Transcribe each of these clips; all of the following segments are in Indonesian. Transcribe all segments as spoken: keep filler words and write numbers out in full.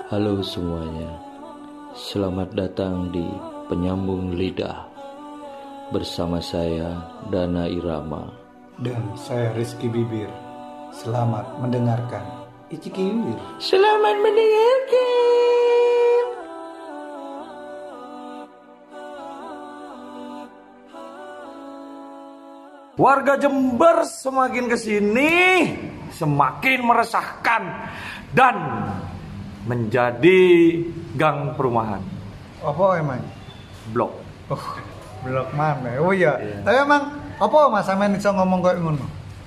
Halo semuanya, selamat datang di Penyambung Lidah. Bersama saya Dana Irama dan saya Rizky Bibir. Selamat mendengarkan. Iciki Bibir. Selamat mendengarkan. Warga Jember semakin kesini semakin meresahkan dan menjadi gang perumahan. Apa emang? Blok. Oh, blok mana? Oh iya. Yeah. Tapi emang apa Mas sampean iso ngomong kayak ngono?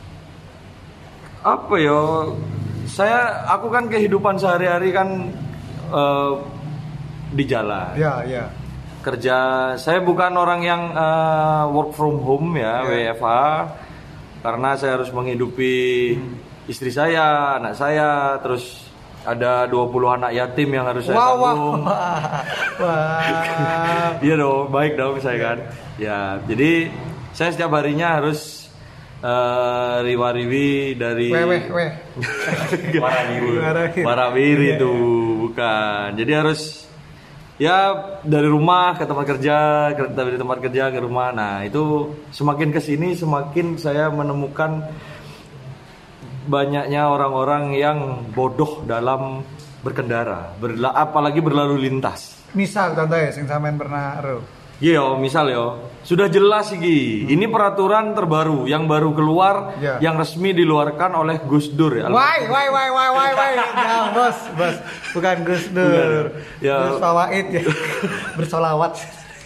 Apa ya? Saya aku kan kehidupan sehari-hari kan uh, di jalan. Ya, ya. Kerja saya bukan orang yang uh, work from home ya, Yeah. W F H, karena saya harus menghidupi hmm. istri saya, anak saya, terus ada dua puluh anak yatim yang harus saya wow, tanggung. Wah, wah. Iya dong, baik dong saya kan. Ya, jadi saya setiap harinya harus uh, riwa-riwi dari Weh, weh, weh. Warawiri. Warawiri itu bukan. Jadi harus ya dari rumah ke tempat kerja, dari tempat kerja ke rumah. Nah, itu semakin kesini semakin saya menemukan banyaknya orang-orang yang bodoh dalam berkendara, berla- apalagi berlalu lintas. Misal contoh ya, sing sampean pernah ero. Iya, misal yo, sudah jelas iki. Hmm. Ini peraturan terbaru yang baru keluar, ya. yang resmi diluarkan oleh Gus Dur ya. Wai, wai, wai, wai, wai, wai. Ya, bos, bos. Bukan Gus Dur. Ya. Gus Fawaid ya. Bersolawat.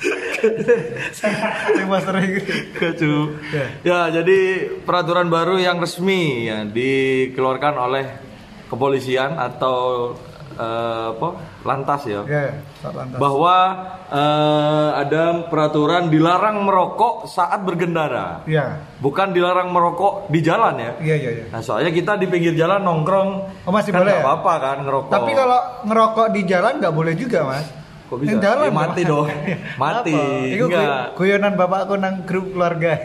Saya master Kacau. Ya. ya, jadi peraturan baru yang resmi ya dikeluarkan oleh kepolisian atau uh, apa? Lantas ya. Ya, lantas. Bahwa uh, ada peraturan dilarang merokok saat berkendara. Iya. Bukan dilarang merokok di jalan ya. Iya, iya, iya. Nah, soalnya kita di pinggir jalan nongkrong. Oh, masih kan boleh. Gak ya? apa-apa kan ngerokok. Tapi kalau ngerokok di jalan nggak boleh juga, Mas. Kok bisa? Yang jalan Ya, mati dong. Mati. Itu enggak. guyonan bapakku nang grup keluarga.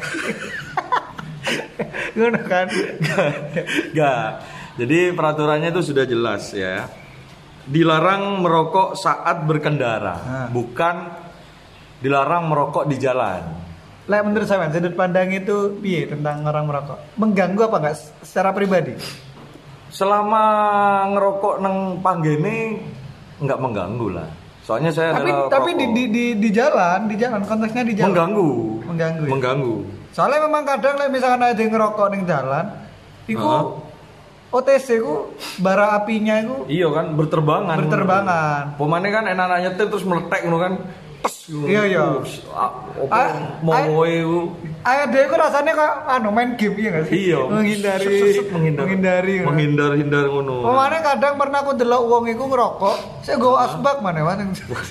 Ngono kan? Enggak. Jadi peraturannya itu sudah jelas ya. Dilarang merokok saat berkendara, nah. bukan dilarang merokok di jalan. Lek menurut saya, sudut pandang itu piye tentang orang merokok? Mengganggu apa enggak secara pribadi? Selama ngerokok nang panggene enggak mengganggu lah. Soalnya saya tapi adalah tapi di, di di di jalan, di jalan konteksnya di jalan. Mengganggu. Mengganggu. Ya? Mengganggu. Soalnya memang kadang lek misalkan ada yang ngerokok ning jalan, iku uh-huh. O T C ku bara apinya itu iya kan berterbangan. Berterbangan. Pemane kan enak-enak nyetir terus meletek ngono kan. Tes. Iya iya. Opo mau iku. Ayo dhewe ku rasane kok anu main game iya enggak sih? Iya. Menghindari Set-set menghindar. menghindari. Menghindar-hindar ngono. Pemane kadang pernah aku delok wong iku ngerokok, saya go asbak mana Mas.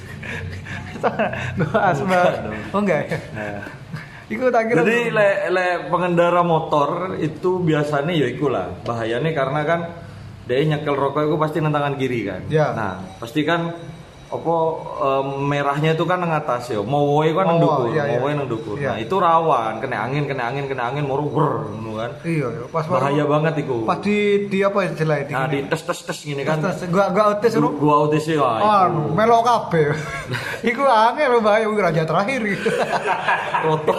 Go asbak. Oh enggak ya. Nah. Iku tak kira. Jadi le, le pengendara motor itu biasanya ya ikulah bahayanya karena kan dia nyekel rokok itu pasti nang tangan kiri kan. Ya. Nah pasti kan apa um, merahnya itu kan nang atas ya. Mau woe kan nang oh, dukur, iya, mau woe iya. nang dukur. Iya. Nah itu rawan, kena angin, kena angin, kena angin, moro wer ngono kan. Iya, iya. Pas bahaya baru, banget iku. Pas di di apa istilahnya di. Nah di tes tes tes gini kan. Tes, tes. Gua gua O T C Gua, gua O T C lah. Ah, melok kabeh. Iku angel bahaya iku raja terakhir gitu. Roto.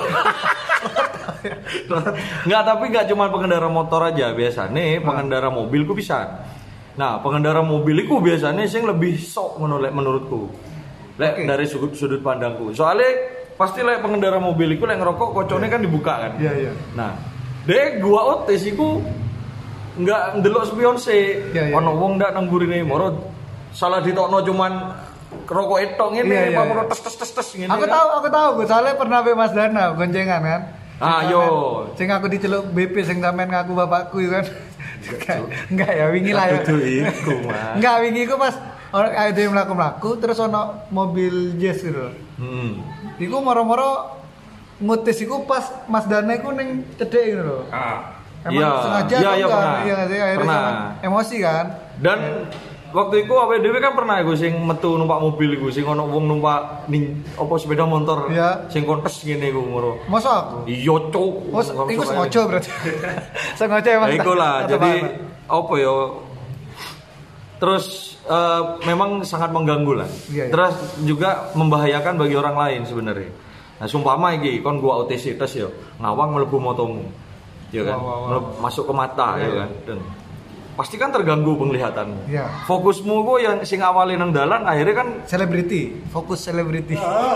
Nggak, tapi nggak cuma pengendara motor aja biasanya pengendara mobil ku bisa. Nah pengendara mobil ku biasanya sing lebih sok menurut menurutku lek okay. Dari sudut sudut pandangku soalnya pasti lek pengendara mobil ku lek ngerokok kocone yeah. Kan dibuka kan iya yeah, iya yeah. Nah dek gua O T S ku nggak ndelok spion sih yeah, yeah. Ono wong ndak nang burine moro salah ditokno cuman rokok etok ngene yeah, yeah, apa yeah. tes tes tes tes ngene aku kan. tahu aku tahu gue soalnya pernah be Mas Dana goncengan kan. Ah yo, sing aku diceluk B P sing sampean ngaku bapakku kan. Enggak ya wingi lah ya. Itu iku, Mas. Enggak wingi iku pas orang ada yang mlaku-mlaku terus ono mobil Jazz gitu. Hmm. Iku moro-moro ngutis iku pas Mas Dana iku ning cedek gitu loh. Ah. Emang iya. sengaja iya, atau iya, enggak? pernah. Iya enggak sih akhirnya pernah. Emosi kan. Dan waktu itu awake dhewe kan pernah iku sing metu numpak mobil iku sing ono wong numpak ning apa sepeda motor ya. Sing kontes ngene iku ngono. Masa aku? Iya, Cuk. Oh, iku sengaja berarti. Sengaja emang. Ya iku lah. Jadi apa ya? Terus uh, memang sangat mengganggu lah. Iya, iya. Terus juga membahayakan bagi orang lain sebenarnya. Nah, sumpama iki kon gua O T C tes yo, ngawang mlebu motomu. Ya kan? Wow, wow, wow. Masuk ke mata iya, ya kan. Dan pasti kan terganggu penglihatanmu. Iya. Fokusmu kok yang sing awalin nang dalan akhirnya kan selebriti, fokus selebriti.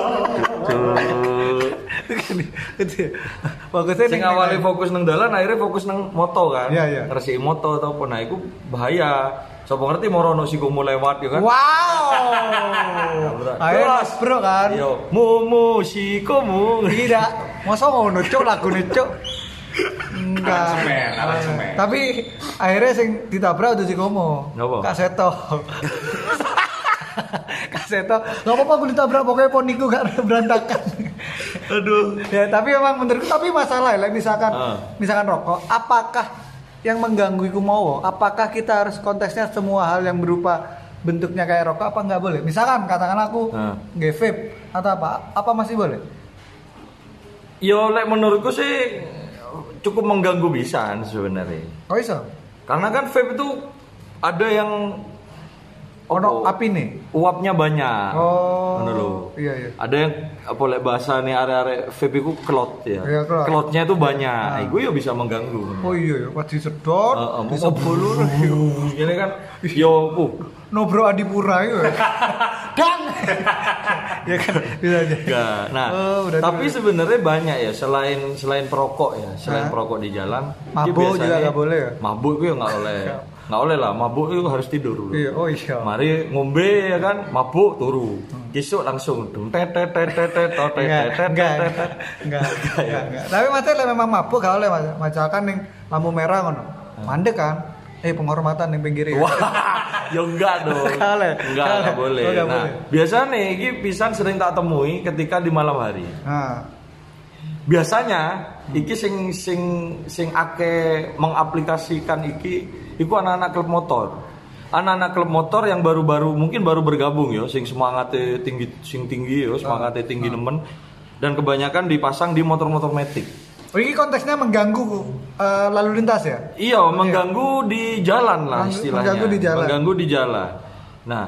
Fokusnya sing awalnya fokus nang dalan akhirnya fokus nang moto kan. Iya, iya. Resiki moto atau apa nah iku bahaya. Sapa ngerti morono sikumu lewat ya kan. Wow. Ayo Mas Bro kan. Yo, mumu sikumu. Tidak, masa ngono cuk lagune cuk. Enggak. Semen, alat semen. Tapi akhirnya sing ditabrak udah sikomo. Ngapa? Kak Seto. Kak Seto, enggak apa-apa aku ditabrak pokoknya poniku gak berantakan. Aduh. Ya, tapi memang menurutku tapi masalah ya, misalkan Uh. misalkan rokok, apakah yang mengganggu iku mau? Apakah kita harus konteksnya semua hal yang berupa bentuknya kayak rokok apa nggak boleh? Misalkan katakan aku Uh. nge-vape atau apa, apa masih boleh? Yo lek menurutku sih cukup mengganggu bisa sebenarnya. Oh iso? Karena kan vape itu ada yang Ono apa, api nih. uapnya banyak. Oh. Ngono lho. Iya iya. Ada yang apa lek bahasane arek-arek vape iku kelot ya. Iya, kelot. Kelotnya itu banyak. Nah. Iku ya bisa mengganggu. Oh iya ya, pas disedot, Heeh, mau disebulur. Ini kan yo uh, Nobro Adipura itu. Dan. Ya kan bisa aja. enggak. Nah, Oh, berarti tapi bener. sebenarnya banyak ya selain selain perokok ya, selain Hah? perokok di jalan. Mabuk dia biasanya- juga nggak boleh ya? Mabuk itu ya nggak oleh. Nggak oleh lah, mabuk itu harus tidur dulu. Iya, oh iya. Mari ngombe ya kan, mabuk turu. Besok langsung dum tet tet tet tet tet tet Enggak, tet enggak, tet tet. enggak, enggak, enggak. Tapi maksudnya memang mabuk gak oleh mas. Misalkan ning lampu merah ngono. Mandek kan? Eh penghormatan ning pinggir ya. Wah, ya enggak dong. Nggak boleh. Enggak, Nggak enggak boleh. boleh. Oh, nggak Nah, boleh. biasanya iki pisan sering tak temui ketika di malam hari. Nah, Biasanya iki sing sing sing ake mengaplikasikan iki iku anak-anak klub motor. Anak-anak klub motor yang baru-baru mungkin baru bergabung ya, sing semangatnya tinggi sing tinggi ya, semangatnya tinggi nemen dan kebanyakan dipasang di motor-motor matic. oh, ini konteksnya mengganggu eh, lalu lintas ya? Iya, mengganggu di jalan lah Mengg- istilahnya. mengganggu di jalan. Mengganggu di jalan. Nah,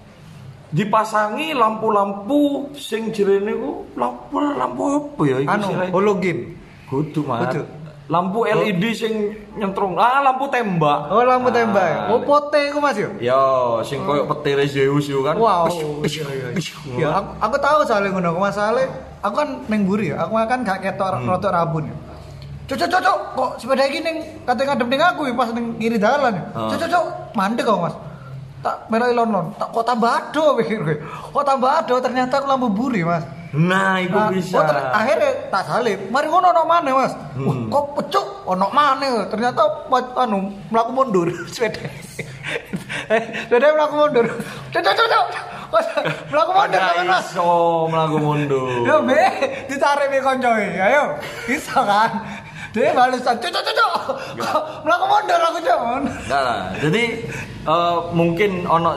dipasangi lampu-lampu sing jerene ku lampu lampu apa ya iki Anu, istilahnya? hologen. Kudu Mas. Kudu. Lampu L E D sing nyentrong. Ah, lampu tembak. Oh, lampu Ah, tembak. ya? Oh, pote iku Mas yo. Yo, sing koyo petir Zeus yo kan. Wow. Pish, Iya, iya. pish, Ya, aku, aku tahu soalnya ngono. Masalahnya aku kan neng buri ya. Aku kan gak ketok Hmm. rotok rabun ya. Cocok cocok kok sepeda iki ning kate ngadep ning aku ya, pas ning kiri dalan ya. Oh. Cocok cocok mandek kok Mas. Tak meloi lon-lon. Tak kok tambah ado pikir gue. Kok tambah ado ternyata aku lampu buri Mas. Nah, itu Nah, bisa. oh, ter- akhirnya tak salib. Mari ngono ono maneh Mas. Wah, Hmm. kok pecuk ono maneh. Ternyata ma- anu mlaku mundur sepeda. Eh, sepeda mlaku mundur. Cocok cocok. Mlaku mundur Pada kan Mas. iso mlaku mundur. Yo be, ditarik be koncoe. Ayo, iso kan. Dia balasan cocok cocok. Mlaku mundur aku cok. Enggak lah. Jadi eh, mungkin ono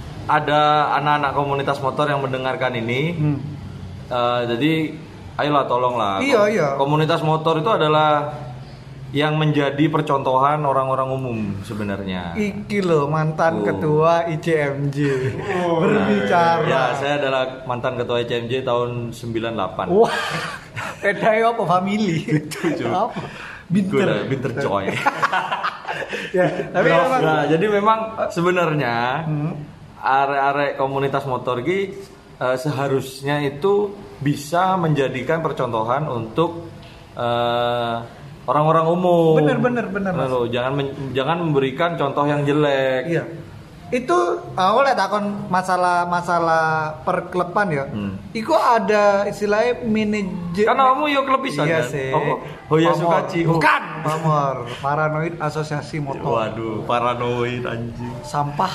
ada anak-anak komunitas motor yang mendengarkan ini. Hmm. Eh, jadi ayolah tolonglah. Iya, Kom- iya. Komunitas motor itu adalah yang menjadi percontohan orang-orang umum sebenarnya. Iki lo mantan Oh. ketua I C M J berbicara. Ya, saya adalah mantan ketua I C M J tahun sembilan puluh delapan. Wah, bedanya apa family? Cuy. Apa? Gue Binter. lah, binter coy. Ya, tapi Bro, emang nah, jadi memang sebenarnya Hmm. arek-arek komunitas motor ini eh, seharusnya itu bisa menjadikan percontohan untuk eh, orang-orang umum. Bener, bener, bener, Nah, Mas. loh, jangan men- jangan memberikan contoh yang jelek. Iya. Itu aku lihat takon masalah-masalah perklepan ya. Hmm. Iku ada istilahnya manajer. Karena kamu yo klub pisan Iya kan? sih. Apa? Hoya Pamor. Sukaci. Oh. Bukan. Pamor. Paranoid Asosiasi Motor. Waduh, paranoid anjing. Sampah.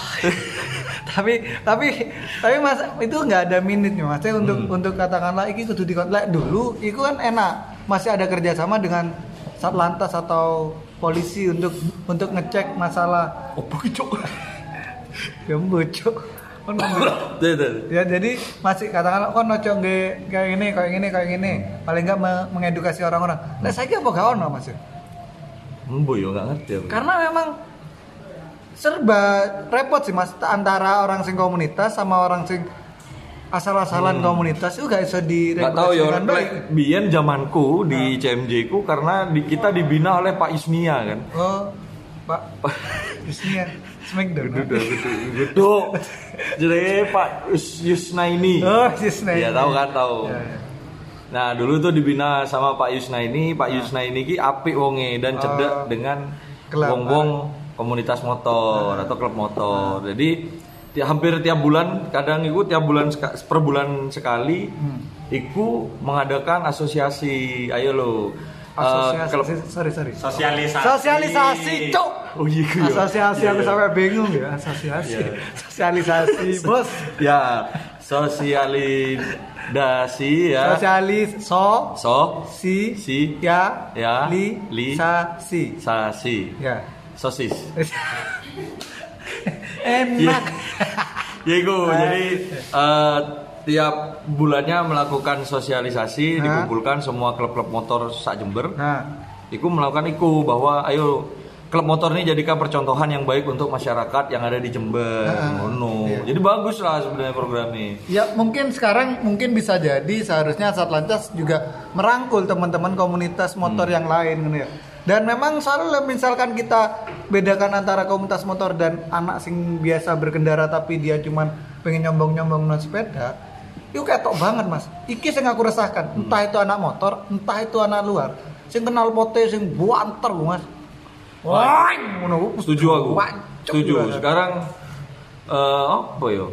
tapi tapi tapi mas itu nggak ada minitnya maksudnya untuk Hmm. untuk katakanlah iki kudu dikontak dulu itu kan enak masih ada kerjasama dengan Satlantas atau polisi untuk untuk ngecek masalah Opo ki cok? ya bocok kan ngomong. Tuh, tuh. Ya jadi masih katakanlah kon noco nge kayak gini kayak gini kayak gini paling nggak me- mengedukasi orang-orang lah saya apa gak ono mas ya Embo yo nggak ngerti aku. karena memang serba repot sih Mas antara orang sing komunitas sama orang sing asal-asalan hmm. komunitas itu gak bisa diregulasi tahu ya, dengan baik. Biyen zamanku di nah. C M J ku karena di, kita dibina oleh Pak Isnia kan. Oh, Pak Isnia. Smackdown. Betul betul. Betul. Jadi Pak Yusnaini. Oh, Yusnaini. Ya tahu kan tahu. Ya, ya. Nah, dulu tuh dibina sama Pak Yusnaini, Pak nah. Yusnaini ki apik wonge dan cedek oh, dengan wong-wong komunitas motor nah. atau klub motor. Nah. Jadi tiap, hampir tiap bulan kadang itu tiap bulan per bulan sekali hmm. iku mengadakan asosiasi ayo lo asosiasi uh, klub, sorry sorry sosialisasi sosialisasi cuk oh iya ya. asosiasi ya, aku ya. Sampai bingung ya asosiasi ya. Sosialisasi bos ya sosialisasi ya sosialis so so si si ya ya li li sa si sa si ya sosis enak ya itu jadi uh, tiap bulannya melakukan sosialisasi nah. dikumpulkan semua klub-klub motor sak Jember nah. Iku melakukan iku bahwa ayo klub motor ini jadikan percontohan yang baik untuk masyarakat yang ada di Jember nah. no. iya. Jadi bagus lah sebenarnya programnya ya mungkin sekarang mungkin bisa jadi seharusnya Satlantas juga merangkul teman-teman komunitas motor hmm. yang lain gitu ya. Dan memang selalu misalkan kita bedakan antara komunitas motor dan anak sing biasa berkendara tapi dia cuman pengen nyombong-nyombong naik sepeda, itu ketok banget mas. Iki sing aku resahkan, entah itu anak motor, entah itu anak luar, sing kenal pote sing buanter mas. Wah, setuju aku. Setuju. Sekarang uh, apa yo?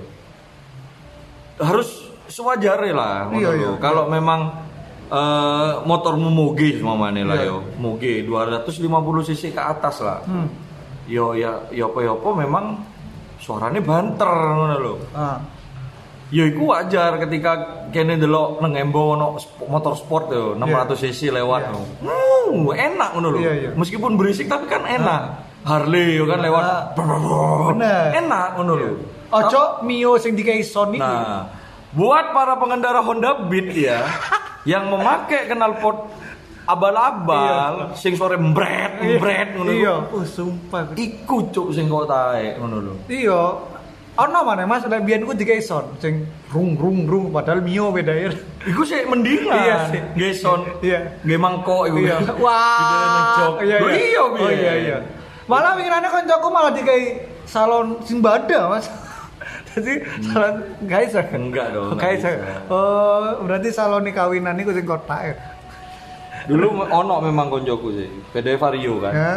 Harus sewajarnya lah. Iya, iya, kalau iya. memang Uh, motormu moge mamane lah yeah. yo moge dua ratus lima puluh cc ke atas lah hmm. yo ya yo apa yo apa memang suaranya banter ngono lho ah. Yo iku wajar ketika kene delok nang Embo ono motor sport yo enam ratus cc lewat yeah. hmm, enak ngono lho yeah, yeah. meskipun berisik tapi kan enak ah. Harley yo kan lewat ah. enak ngono lho ojo Mio sing dikai Sony nah buat para pengendara Honda Beat ya yang memakai knalpot abal-abal iya. sing sore mbret mbret ngono iya oh sumpah iku cuk sing kok taek ngono lho iya ono maneh Mas lek biyen ku dikai son sing rung rung rung padahal Mio beda ya iku sik mendingan iya sih nggih son iya nggih mangkok iku iya wah iya iya oh iya iya malah winginane koncoku malah dikai salon sing bada Mas. Jadi hmm. salon guys enggak dong. Guys. Oh, berarti salon kawinan niku sing kotak. Dulu ono memang koncoku sih. P D Vario kan. Ya.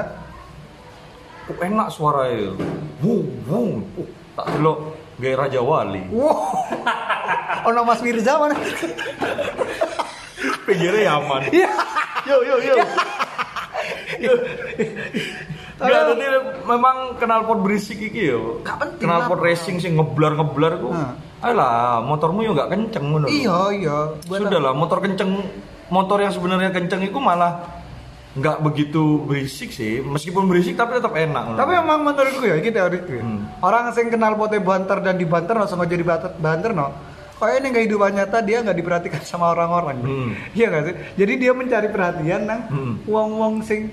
Oh, enak suaranya. Wung wung. Oh, tak delok gaya Raja Wali. Wow. Ono Mas Mirza mana? Pinggirnya aman. Yo yo yo. Yo. Enggak, tadi memang knalpot berisik iki yo. Gak penting. Knalpot racing sing ngeblar-ngeblar ku. Nah. Alah, motormu yo gak kenceng ngono. Iya, iya. Sudahlah, motor kenceng, motor yang sebenarnya kenceng itu malah nggak begitu berisik sih. Meskipun berisik tapi tetap enak. Tapi memang menurutku ya, iki teoriku. Hmm. Orang sing knalpotnya banter dan dibanter no sama jadi banter no. Kayaknya ini kehidupan nyata dia nggak diperhatikan sama orang-orang. Hmm. Iya nggak sih? Jadi dia mencari perhatian nang hmm. wong-wong sing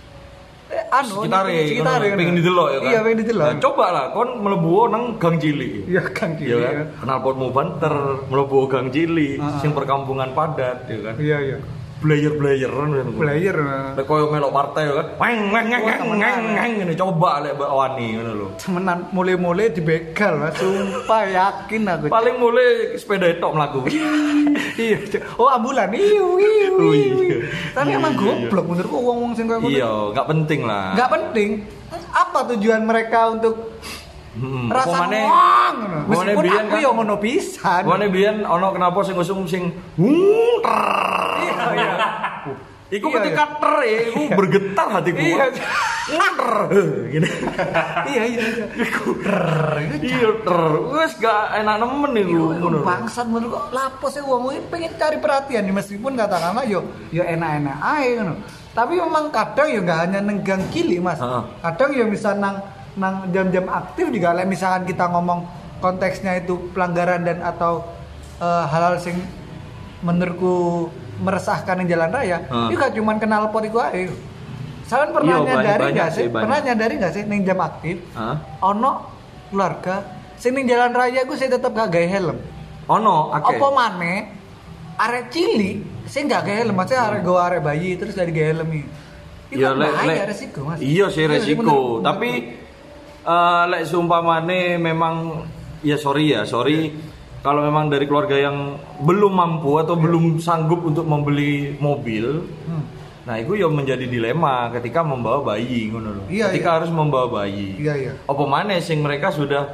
anu sekitar ya pengen didelok ya kan iya pengen didelok nah, coba lah kon mlebu nang gang cilik iya gang cilik ya kan knalpotmu banter mlebu gang cilik uh-huh. sing perkampungan padat ya kan iya iya player-playeran kan player lek koyo melok partai kan weng weng weng weng weng ngene coba lek wani ngono lho temenan mulai-mulai dibegal Mas sumpah yakin aku paling mulai sepeda tok mlaku iya oh ambulan iu iu iu tapi emang goblok menurutku wong-wong sing koyo ngono iya enggak penting lah enggak penting apa tujuan mereka untuk Hmm, rasa wong ngono. Meskipun aku yo ngono pisan. Wone biyen ana kenapa sing ngusung sing iya iya. Iku ketika ter iku bergetar hatiku. Iya. Gini. Iya iya iya. Iku ter. Iya ter. Wes gak enak nemen iku ngono. Bangsat menurut kok lapo sih wong iki pengen cari perhatian meskipun katakanlah yo yo enak-enak ae ngono. Tapi memang kadang yo gak hanya nenggang kili Mas. Kadang yo misal nang nang jam-jam aktif juga lah misalkan kita ngomong konteksnya itu pelanggaran dan atau uh, hal-hal sing menurutku meresahkan di jalan raya hmm. itu gak cuma knalpot iku ae Sampeyan pernah Iya, nyadari banyak nggak sih, sih? banyak. Pernah nyadari nggak sih ning jam aktif? Hah? Ono keluarga sing ning jalan raya ku sing tetep gak gawe helm. Ono, akeh. Apa maneh arek cilik sing gak gawe helm, maksudnya arek go arek bayi terus gak digawe helm iki. Iku Ya kan lek bahaya lek resiko, Mas. Iya sih Iya, resiko, bener. tapi eh lek seumpamane memang ya sorry ya, sorry kalau memang dari keluarga yang belum mampu atau belum sanggup untuk membeli mobil. Hmm. Nah, itu ya menjadi dilema ketika membawa bayi ngono lho. Iya, ketika iya. harus membawa bayi. Iya, iya. Apa maneh sing mereka sudah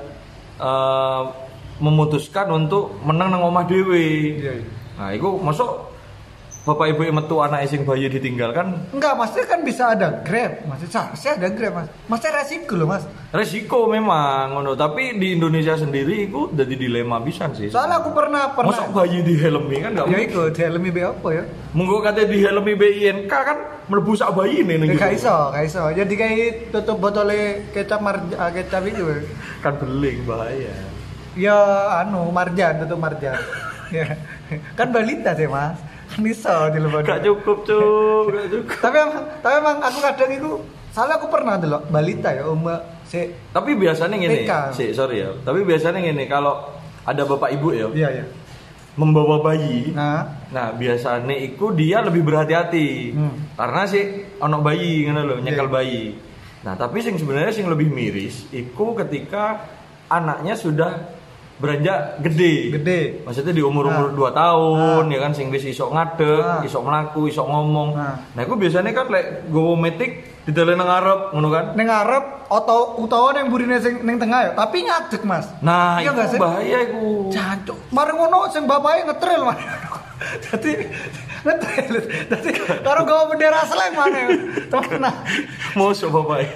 eh, memutuskan untuk menang nang omah dhewe. Iya, iya. Nah, itu masuk bapak ibu yang metu anak sing bayi ditinggalkan Enggak, maksudnya kan bisa ada Grab. Maksudnya seharusnya ada Grab, Mas. Maksudnya resiko loh, Mas. resiko memang ngono, tapi di Indonesia sendiri itu jadi dilema pisan sih. Soalnya aku pernah pernah Masuk bayi di helmi kan enggak ya mungkin. iku dihelmi be apa ya? Monggo kate di helmi B I N K kan mlebu sak bayi nih ning Ya, gak gitu. iso, gak iso. Jadi kayak tutup botolnya kecap marja, ah, kecap itu. Kan beling bahaya. Ya anu marjan, tutup marjan. Ya. Kan balita sih, Mas. Kan iso di luar. Gak cukup, Cuk. Gak cukup. Tapi emang, tapi emang aku kadang itu soalnya aku pernah dulu balita ya umur si Tapi biasanya gini, T K. sih sorry ya. Tapi biasanya gini kalau ada bapak ibu ya iya iya. membawa bayi. Nah, Nah, biasanya itu dia lebih berhati-hati. Hmm. Karena sih ono bayi ngono lho, nyekel Iya. bayi. Nah, tapi sing sebenarnya sing lebih miris iku ketika anaknya sudah beranjak gede. gede. Maksudnya di umur-umur Nah. dua tahun Nah. ya kan sing wis iso ngadeg, Nah. iso mlaku, iso ngomong. Nah. Nah, iku biasanya kan lek gowo metik didelen nang ngarep ngono kan. Neng ngarep atau utawa neng burine sing neng tengah ya, tapi ngadeg, Mas. Nah, Iya nggak itu sih? bahaya iku. Jancuk. Mari ngono sing bapake ngetril, Mas. Dadi ngetril. Dadi karo gawa bendera Slang maneh. Tenan. Mosok bapak.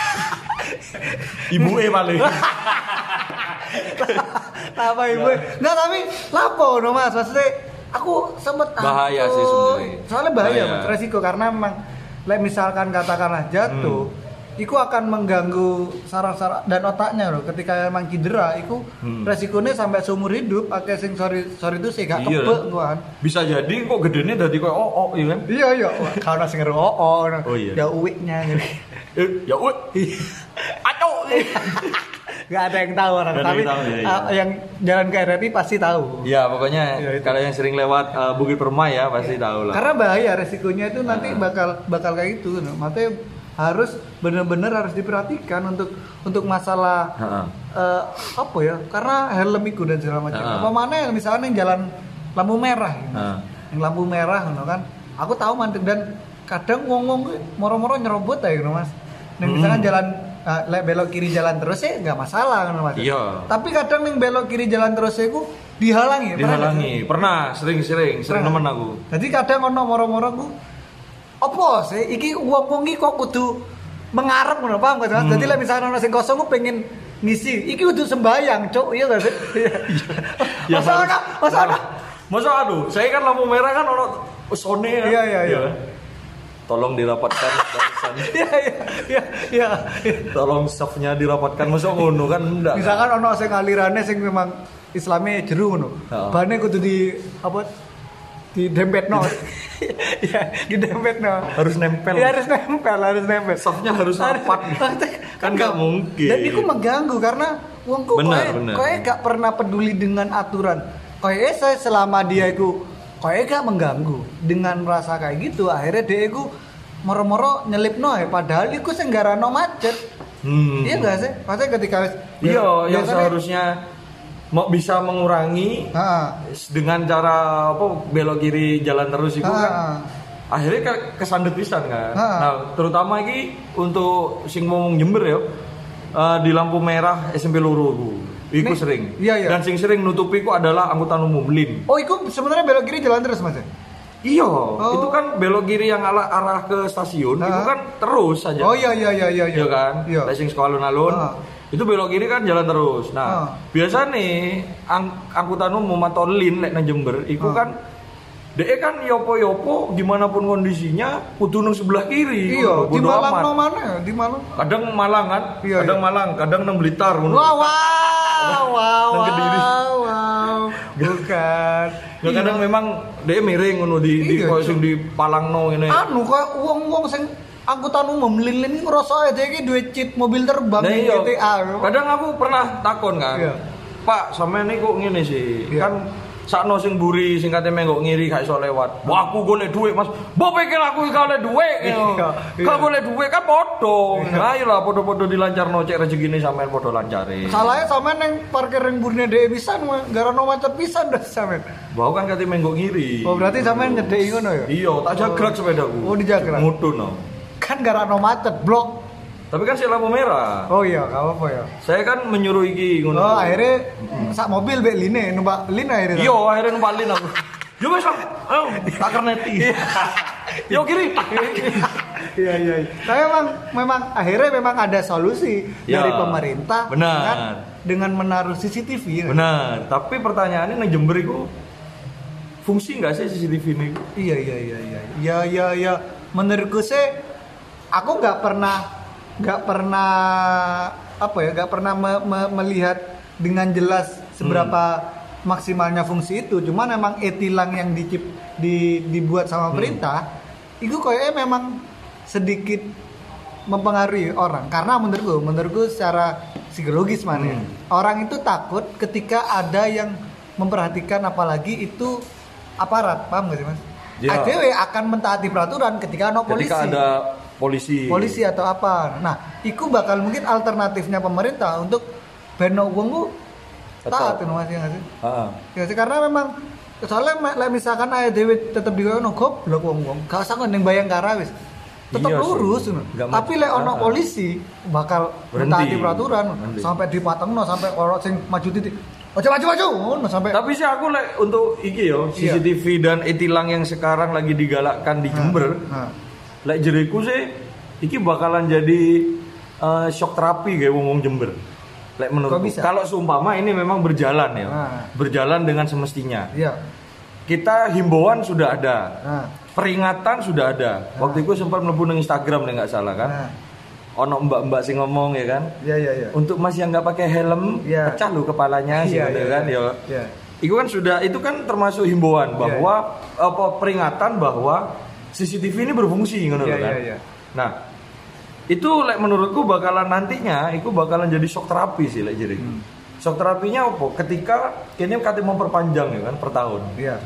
Ibu e paling. Apa ibu? Enggak, tapi lapo no, Mas. Maksudnya aku sempet Bahaya sih takut. sebenarnya. Soalnya bahaya, Bahaya. Mas, resiko karena memang like misalkan katakanlah jatuh, Hmm. itu akan mengganggu saraf-saraf dan otaknya loh. Ketika emang cedera, itu Hmm. resikonya sampai seumur hidup. Akeh sing sorry sorry itu sih gak Iya. kebek kan. Bisa jadi kok gedene dadi koyo oh oh iya kan. Iya iya, kalau sing ngero oh, oh, Oh, iya. ya uwiknya gitu. Eh, ya weh. Aco. Gak ada yang tahu orang, Gak ada tapi yang tahu, ya, iya. uh, yang jalan ke R R I pasti tahu. Ya pokoknya Ya, itu. kalau yang sering lewat uh, Bukit Permai ya pasti tahu lah. Karena bahaya resikonya itu nanti Nah. bakal bakal kayak gitu. No. Makanya harus benar-benar harus diperhatikan untuk untuk masalah Heeh. eh, apa ya? Karena helm itu dan segala macam. Ha-ha. Apa mana yang misalnya yang jalan lampu merah, gitu. Heeh. Yang lampu merah, no, kan? Aku tahu mandek dan kadang ngomong moro-moro nyerobot ya, gitu, Mas. Nah, misalkan Hmm. jalan eh, lek belok kiri jalan terus ya nggak masalah, kan, Mas. Iya. Tapi kadang yang belok kiri jalan terus ya ku dihalangi. pernah nggak sih? Dihalangi. Pernah sering-sering sering Pernah. nemen aku. Jadi kadang ono moro-moro ku apa sih iki wong-wong iki kok kudu mengarep ngono paham gak? Hmm. Jadi lah misalnya ono sing kosong ku pengen ngisi, iki kudu sembayang, Cuk. Iya gak sih? Ya, Masa harus- ono, masa ono. Masa aduh, saya kan lampu merah kan ono sone ya. Iya, iya, iya. Tolong dirapatkan barisan. Iya iya iya iya. Tolong staffnya dirapatkan. Masa ngono kan enggak. Misalkan ono sing alirane sing memang Islame jeru ngono. Heeh. Bane kudu di apa di dempetno. Iya, di dempetno. Harus nempel. Iya, harus nempel, harus nempel. Staffnya harus rapat. Kan nggak mungkin. Dan itu mengganggu karena wongku Benar, koe benar. koe gak pernah peduli dengan aturan. Koe saya selama dia iku koe gak mengganggu dengan rasa kayak gitu, akhirnya dia iku moro-moro nyelipno ya padahal iku sing garano macet. Hmm. Iya gak sih? Maksudnya ketika wis Iya, yang biasanya- seharusnya mau bisa mengurangi Ha. dengan cara apa belok kiri jalan terus itu Ha. kan akhirnya ke kesandet pisan kan. Ha. Nah, terutama iki untuk sing ngomong Jember ya eh, di lampu merah S M P loro iku. Iku Nih, sering. iya, iya. Dan sing sering nutupi ku adalah angkutan umum Lim. Oh, itu sebenarnya belok kiri jalan terus, Mas. Iya, Oh. itu kan belok kiri yang arah, arah ke stasiun, Ha. itu kan terus saja. Oh iya iya iya iya. Iya kan? Iya. Lek sing sekolah alun-alun. Ah. Itu belok kiri kan jalan terus. Nah, Ah. biasa nih ang- angkutan umum atau lin lek nang Jember iku Ah. kan dek kan yopo-yopo gimana pun kondisinya kudu nang sebelah kiri. Iya, Bodo di Malang amat. no mana? Di Malang. Kadang Malang kan, Iya, kadang iya. Malang, kadang nang Blitar ngono. Wow, wow, wow, Dan Kediri. wow, wow. Bukan. Ya kadang memang dia miring ngono di di Iya, koyo Cuk. sing di Palangno ngene. Anu kok wong-wong sing angkutan umum lilin ngerasa aja iki duwe cheat mobil terbang Nah, di iya. G T A. Kadang aku pernah takon kan. Iya. Pak, sampean ini kok ngene sih? Iya. Kan sakno sing mburi sing kate menggok ngiri gak iso lewat. Wah, aku golek dhuwit, Mas. Mbok pikir aku iki golek dhuwit. Iya, iya. Kok golek dhuwit kan padha. Ayolah padha-padha dilancarno cek rezekine sampean padha lancare. Salahnya sampean yang parkir yang burine dhewe pisan garano macet pisan dah sampean. Bau kan kate menggok ngiri. Oh berarti sampean nyedeki ngono ya? Iya, tak jagrak sepedaku. Oh, dijagrak. Mudun. Kan garano macet blok. Tapi kan si lampu merah. Oh iya, gak apa-apa ya. Saya kan menyuruh iki ngono. Oh akhirnya sak mobil bek line numpak line akhirnya. Iya, akhirnya numpak lin aku. Yo wis, ayo tak kerneti. Yo kiri. Iya iya. iya. Tapi memang memang akhirnya memang ada solusi Ya, dari pemerintah benar. kan, dengan menaruh C C T V. Ya. Benar, tapi pertanyaannya nang Jember iku fungsi nggak sih C C T V ini? Iya iya iya iya. Iya iya iya. Menurutku sih aku nggak pernah nggak pernah apa ya nggak pernah me- me- melihat dengan jelas seberapa hmm. maksimalnya fungsi itu. Cuman memang e-tilang yang dicip di, dibuat sama pemerintah hmm. itu kayaknya memang sedikit mempengaruhi orang karena menurutku menurutku secara psikologis mana hmm. orang itu takut ketika ada yang memperhatikan apalagi itu aparat, paham gak sih mas? Ya. A D W akan mentaati peraturan ketika ada polisi. Ketika ada polisi. Polisi atau apa. Nah, itu bakal mungkin alternatifnya pemerintah untuk beno uang ku taat itu mas ya nggak sih? Heeh. Ya sih karena memang soalnya like, misalkan A D W tetap digono goblok uang-uang. Gak usah ngendeng Bayangkara wis. Tetap Iya lurus. sih. Tapi lek ono polisi bakal mentaati peraturan Berhenti. sampai dipatengno sampai orang sing maju titik. Maju maju maju ngono sampai. Tapi sih aku like untuk iki yo C C T V iya. dan e-tilang yang sekarang lagi digalakkan di Jember. Nah, nah. Lek jeriku sih iki bakalan jadi uh, shock terapi kayak wong-wong Jember. Lek menurutku. Kalau seumpama ini memang berjalan ya. Nah. Berjalan dengan semestinya. Iya. Kita himbauan sudah ada. Nah. Peringatan sudah ada. Nah. Waktu itu sempat mlebu nang Instagram nek enggak salah kan. Nah. Ono mbak-mbak sing ngomong ya kan. Iya iya iya. Untuk Mas yang nggak pakai helm, ya. pecah lo kepalanya sih ya, gitu ya, kan ya. ya. Ya. Itu kan sudah itu kan termasuk himbauan bahwa ya, ya. apa peringatan bahwa C C T V ini berfungsi ngono ya, kan. Ya, ya. Nah, itu like, menurutku bakalan nantinya itu bakalan jadi shock terapi sih like, jadi. Hmm. Shock terapinya apa? Ketika kini kate memperpanjang ya kan per tahun. Iya.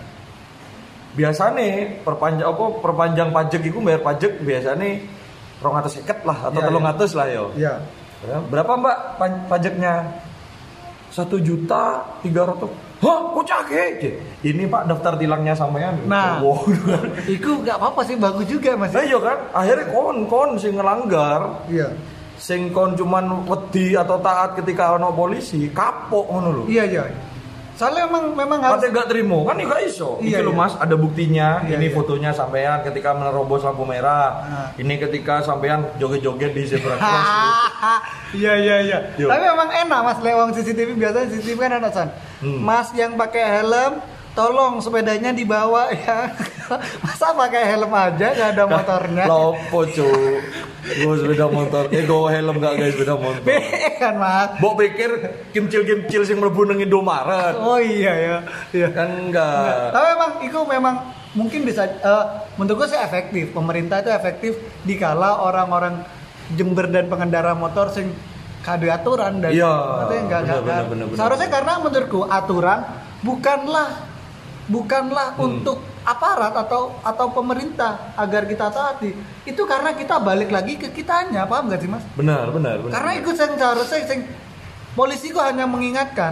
Biasanya perpanjang apa perpanjang pajak itu bayar pajak biasanya rong atus seket lah atau telung ya, atus lah yo. Iya. Berapa mbak pajaknya? Satu juta tiga ratus. Hah, kok cake? Ini pak daftar tilangnya sampean. Nah, wow. Itu nggak apa-apa sih, bagus juga mas. Nah iya kan, akhirnya kon kon sing ngelanggar. Iya. Sing kon cuman wedi atau taat ketika ono polisi, kapok ngono lho. Iya iya. Soalnya memang memang harus. Katanya gak terima kan ya gak iso. Iya, Iki lho iya. mas, ada buktinya. Iya, ini iya. fotonya sampean ketika menerobos lampu merah. Nah. Ini ketika sampean joget-joget di zebra cross. Iya iya iya. Yo. Tapi memang enak mas lewang C C T V biasanya C C T V kan enak san. Hmm. Mas yang pakai helm, tolong sepedanya dibawa ya. Masa pakai helm aja gak ada motornya? Lopo cu. Gue sepeda motor. Eh gue helm gak guys sepeda motor. Be kan mas. Mbok pikir kimcil-kimcil sing mlebu nang Indomaret. Oh iya ya. Iya. Kan enggak. Tapi memang itu memang mungkin bisa uh, menurut gue sih efektif. Pemerintah itu efektif dikala orang-orang Jember dan pengendara motor sing kade aturan dan iya, enggak bener, enggak. bener, bener, Seharusnya bener. Karena menurutku aturan bukanlah bukanlah hmm. untuk aparat atau atau pemerintah agar kita taati. Itu karena kita balik lagi ke kitanya, paham gak sih mas? Benar, benar, benar. Karena itu yang seharusnya sing polisi kok hanya mengingatkan.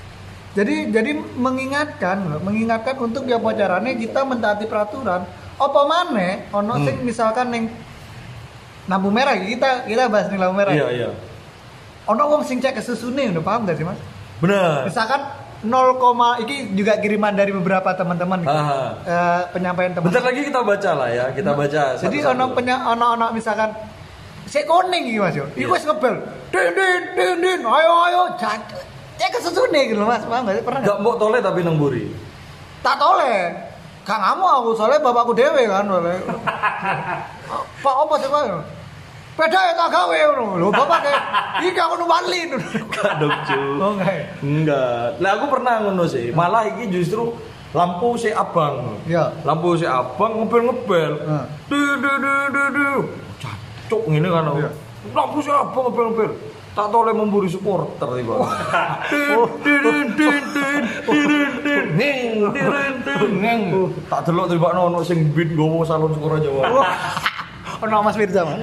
Jadi jadi mengingatkan, mengingatkan untuk dia bocorannya kita mentaati peraturan. Apa maneh ono hmm. sing misalkan ning lampu merah kita kita bahas nih lampu merah. Iya, iya. Ono wong sing cek kesusune udah paham gak sih mas? Benar. Misalkan nol, ini juga kiriman dari beberapa teman-teman gitu. Uh, penyampaian teman. Bentar lagi kita baca lah ya, kita baca. Jadi ono penya ono ono misalkan sik kuning iki Mas yo. Iku wis ngebel. Din din din din ayo ayo jatuh. Cek kesusune gitu Mas, paham gak sih? Pernah enggak mbok tole tapi nang mburi. Tak tole. Kang kamu aku soalnya bapakku dhewe kan oleh. Pak apa sih Pak? Peda ya tak gawe ngono. Lho bapak kayak iki aku numbalin. Enggak dong, cu. Oh enggak. Enggak. Lah aku pernah ngono sih. Malah iki justru lampu si abang. Iya. Lampu si abang ngebel-ngebel. Heeh. Du du du du du. cuk ngene kan. Iya. Lampu siapa ngepel-ngepel. Tak toleh memburu supporter tiba. Din din din din din ning din din ning. Tak delok tiba ono sing beat gowo salon Sukora Jawa. Ono Mas Firza mana?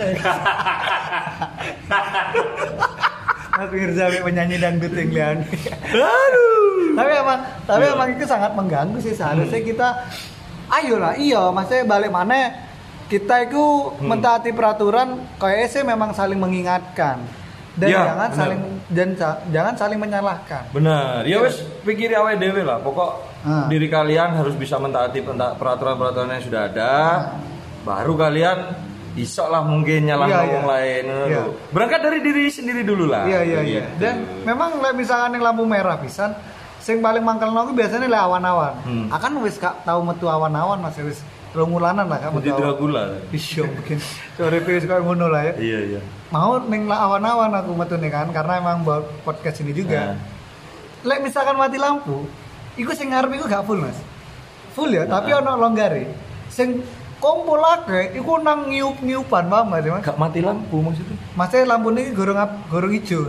Mas Firza penyanyi dangdut yang lian. Aduh. Tapi emang tapi emang itu sangat mengganggu sih seharusnya kita ayolah iya maksudnya balik mana kita itu mentaati peraturan kayaknya sih memang saling mengingatkan. Dan ya, jangan bener. saling dan jangan saling menyalahkan. Benar. Ya wes pikiri awake dhewe lah. Pokok Ah. diri kalian harus bisa mentaati peraturan-peraturan yang sudah ada. Baru kalian iso lah mungkin nyalah Iya, orang iya. lain. Iya. Berangkat dari diri sendiri dulu lah. Iya iya iya. Gitu. Dan memang lek misalkan yang lampu merah pisan, sing paling mangkelno ku biasanya lek awan-awan. Hmm. Akan wis gak tau metu awan-awan Mas wis rongulanan lah kan Budi metu awan. Dragula. Iya mungkin. Sore wis koyo ngono lah ya. Iya iya. Mau ning lah awan-awan aku metu nih kan karena emang buat podcast ini juga. Nah. Lek misalkan mati lampu, iku sing ngarep iku gak full Mas. Full ya, tapi Nah. ono longgare. Sing kumpul akeh iku nang ngiup-ngiupan paham gak sih Mas? Gak mati lampu maksudnya? Masnya lampu ini gorong ap- gorong hijau.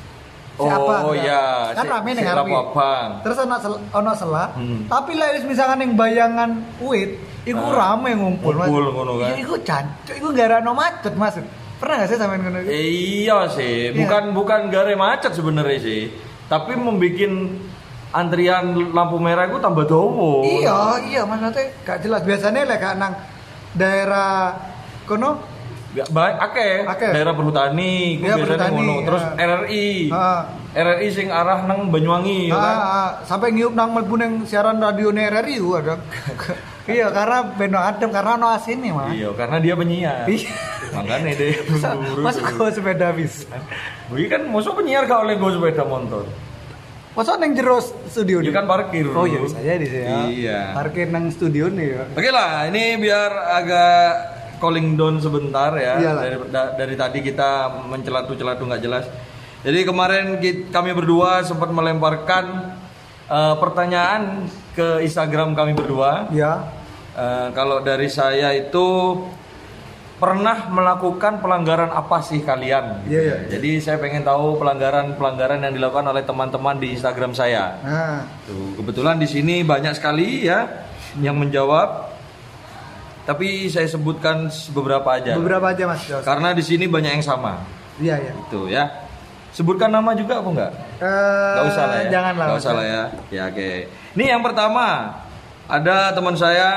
Oh iya, kan si- rame si ning lampu ngarepe. abang. Terus ono sel- ono selah, Hmm. tapi lek wis misalkan ning bayangan wit, iku Ah, rame ngumpul Mas. ngumpul ngono kan. Iya, iku jancuk, iku gara-gara macet Mas. Pernah gak sih sampean ngono iku? Iya sih, bukan bukan gare macet sebenarnya sih, tapi membuat antrian lampu merah itu tambah dawa. Iya, iya Mas nanti gak jelas. Biasanya lek gak nang daerah kono Gak baik, akeh. Akeh. Daerah perhutani, Iya, biasanya perhutani, ngono. Terus ya. R R I, Heeh. R R I sing arah nang Banyuwangi, ya Ah, kan? ah, sampai ngiup nang mlebu ning siaran radio R R I ku ada. Iya, karena beno adem karena ono asine, Mas. Iya, karena dia penyiar. Iya. Makanya deh. buru-buru Mas tuh. kok sepeda bisa. Wih kan, masuk penyiar gak oleh gue sepeda motor. Masa neng jero studio Dia nih? kan parkir. Oh iya bisa jadi sih ya. Iya. Parkir nang studio nih ya. Oke lah, ini biar agak calling down sebentar ya. Iyalah. Dari, da- dari tadi kita mencelatu-celatu nggak jelas. Jadi kemarin ki- kami berdua sempat melemparkan eh, pertanyaan ke Instagram kami berdua. Ya. Eh, kalau dari saya itu pernah melakukan pelanggaran apa sih kalian? Iya, iya. Jadi saya pengen tahu pelanggaran-pelanggaran yang dilakukan oleh teman-teman di Instagram saya. Nah, Tuh, kebetulan di sini banyak sekali ya yang menjawab. Tapi saya sebutkan beberapa aja. beberapa aja Mas Jos. Karena di sini banyak yang sama. Iya iya. Itu ya. Sebutkan nama juga apa enggak? Eh, Gak usah lah ya. Janganlah. Gak usah lah ya. Ya oke. Ini yang pertama. Ada teman saya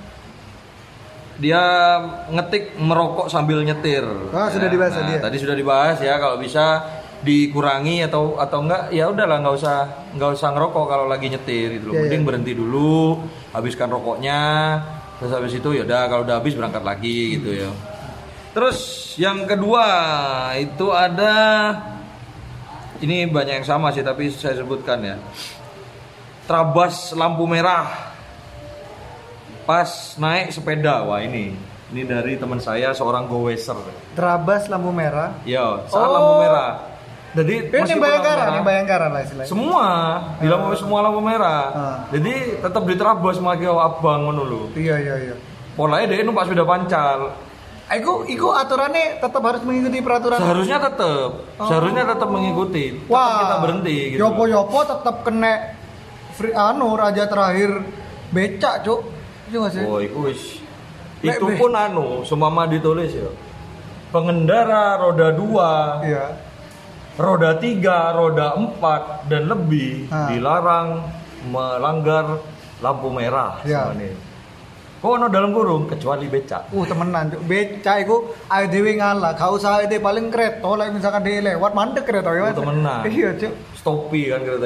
dia ngetik merokok sambil nyetir. Oh, sudah dibahas nah, tadi ya? Tadi sudah dibahas ya, kalau bisa dikurangi atau atau enggak ya udahlah, nggak usah nggak usah ngerokok kalau lagi nyetir gitu loh. Iya, Mending iya. berhenti dulu, habiskan rokoknya, terus habis itu ya udah kalau udah habis berangkat lagi gitu ya. Terus yang kedua itu ada, ini banyak yang sama sih tapi saya sebutkan ya. Terabas lampu merah pas naik sepeda. Wah ini ini dari teman saya seorang goweser. Terabas lampu merah. Yo, saat Oh. lampu merah. Jadi Ini meskipun Bayangkara, lampu ini merah, Bayangkara lah istilahnya. semua di lampu semua lampu merah. Ah. Jadi tetap diterabas sama kio abang ngono lho. Iya iya iya. Polanya dia numpak sepeda pancal. Iku iku aturannya tetap harus mengikuti peraturan. Seharusnya tetap, seharusnya tetap mengikuti. Tetap Wah, kita berhenti gitu. Yopo-yopo tetap kena free anu raja terakhir becak, Cuk. Iya nggak sih? Oh, itu wis. Lek Itu be- pun anu, semama ditulis ya. Pengendara roda dua, Iya. roda tiga, roda empat dan lebih Ah. dilarang melanggar lampu merah. Iya. Sama nih. Oh, no dalam kurung kecuali becak. Uh temenan, Cuk. Becak iku ae dhewe ngalah, gak usah ide paling kereta lek misalkan dia lewat mandek kereta ya. Oh, temenan. Iya, Cuk. Stopi kan kereta.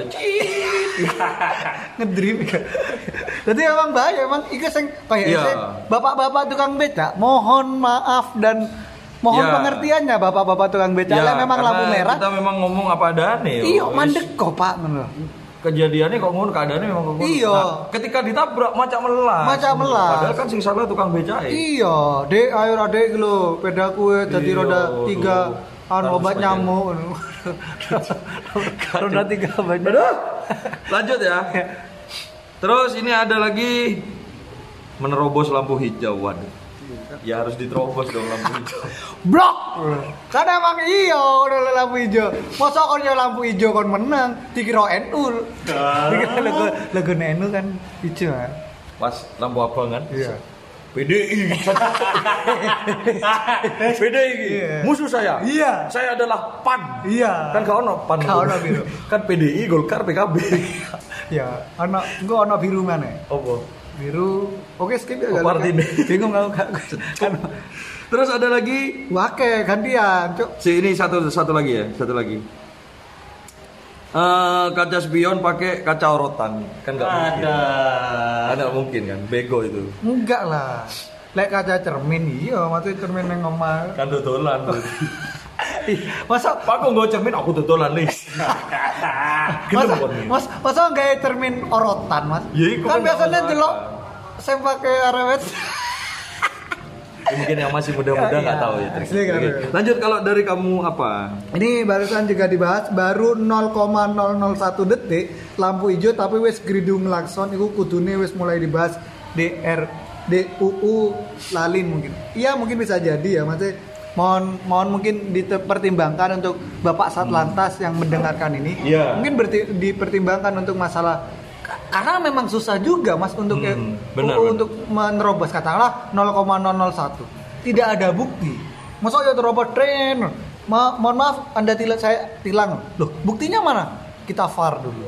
Ngedrip. Jadi emang bahaya, emang iku sing kayak Iya. sing bapak-bapak tukang becak, mohon maaf dan mohon Iya. pengertiannya bapak-bapak tukang becak. Ya, Lek memang karena lampu merah. kita memang ngomong apa adanya. yo. Iya, Wis. mandek kok, Pak, ngono. Kejadiannya kok ngono, keadaannya memang kok ngono. Iya. Nah, ketika ditabrak macam melas. Macam melas. Padahal kan sing salah tukang becak. Iya, Dek, ayo Dek lho, pedaku e dadi Iya, roda aduh. tiga anu Harus obat pakai. nyamuk. Roda tiga obat nyamuk. Aduh. Lanjut ya. Terus ini ada lagi menerobos lampu hijau. Waduh. Ya harus diterobos dong lampu hijau. Blok. Kan emang iya udah lampu hijau. Masa kon yo lampu hijau kon menang dikira N U. Dikira logo logo N U kan hijau. Pas lampu abang kan? Iya. P D I. P D I. Iya. Musuh saya. Iya. Saya adalah P A N. Iya. Kan kau ono P A N. Kau ono biru. Kan P D I, Golkar, P K B. Ya, ono engko ono biru mana? Apa? Biru. Oke, skip ya. Oh, partai deh. Bingung aku kan. Terus ada lagi. Wake gantian, Cuk. Si ini satu satu lagi ya, satu lagi. Uh, kaca spion pakai kaca orotan kan nggak mungkin. Ada. Ada mungkin kan, bego itu. Enggak lah. Lek kaca cermin iya, maksudnya cermin yang ngomong. Kan dodolan. Masa Pak kok nggak cermin aku dodolan nih. masa, mas, masa nggak cermin orotan mas? Ya, kan biasanya delok saya pakai arewet. Mungkin yang masih muda-muda nggak tahu ya. Oke. Lanjut kalau dari kamu apa? Ini barusan juga dibahas baru nol koma nol nol satu detik lampu hijau tapi wis gridung klakson itu kudune wis mulai dibahas D R D U U lalin mungkin. Iya mungkin bisa jadi ya maksudnya mohon mohon mungkin dipertimbangkan untuk Bapak Satlantas yang mendengarkan ini. Yeah. Mungkin berti, dipertimbangkan untuk masalah karena memang susah juga mas untuk hmm, benar, uh, benar. untuk menerobos katakanlah nol koma nol nol satu tidak ada bukti masa ya terobos tren Ma- mohon maaf anda tilang saya tilang loh buktinya mana kita V A R dulu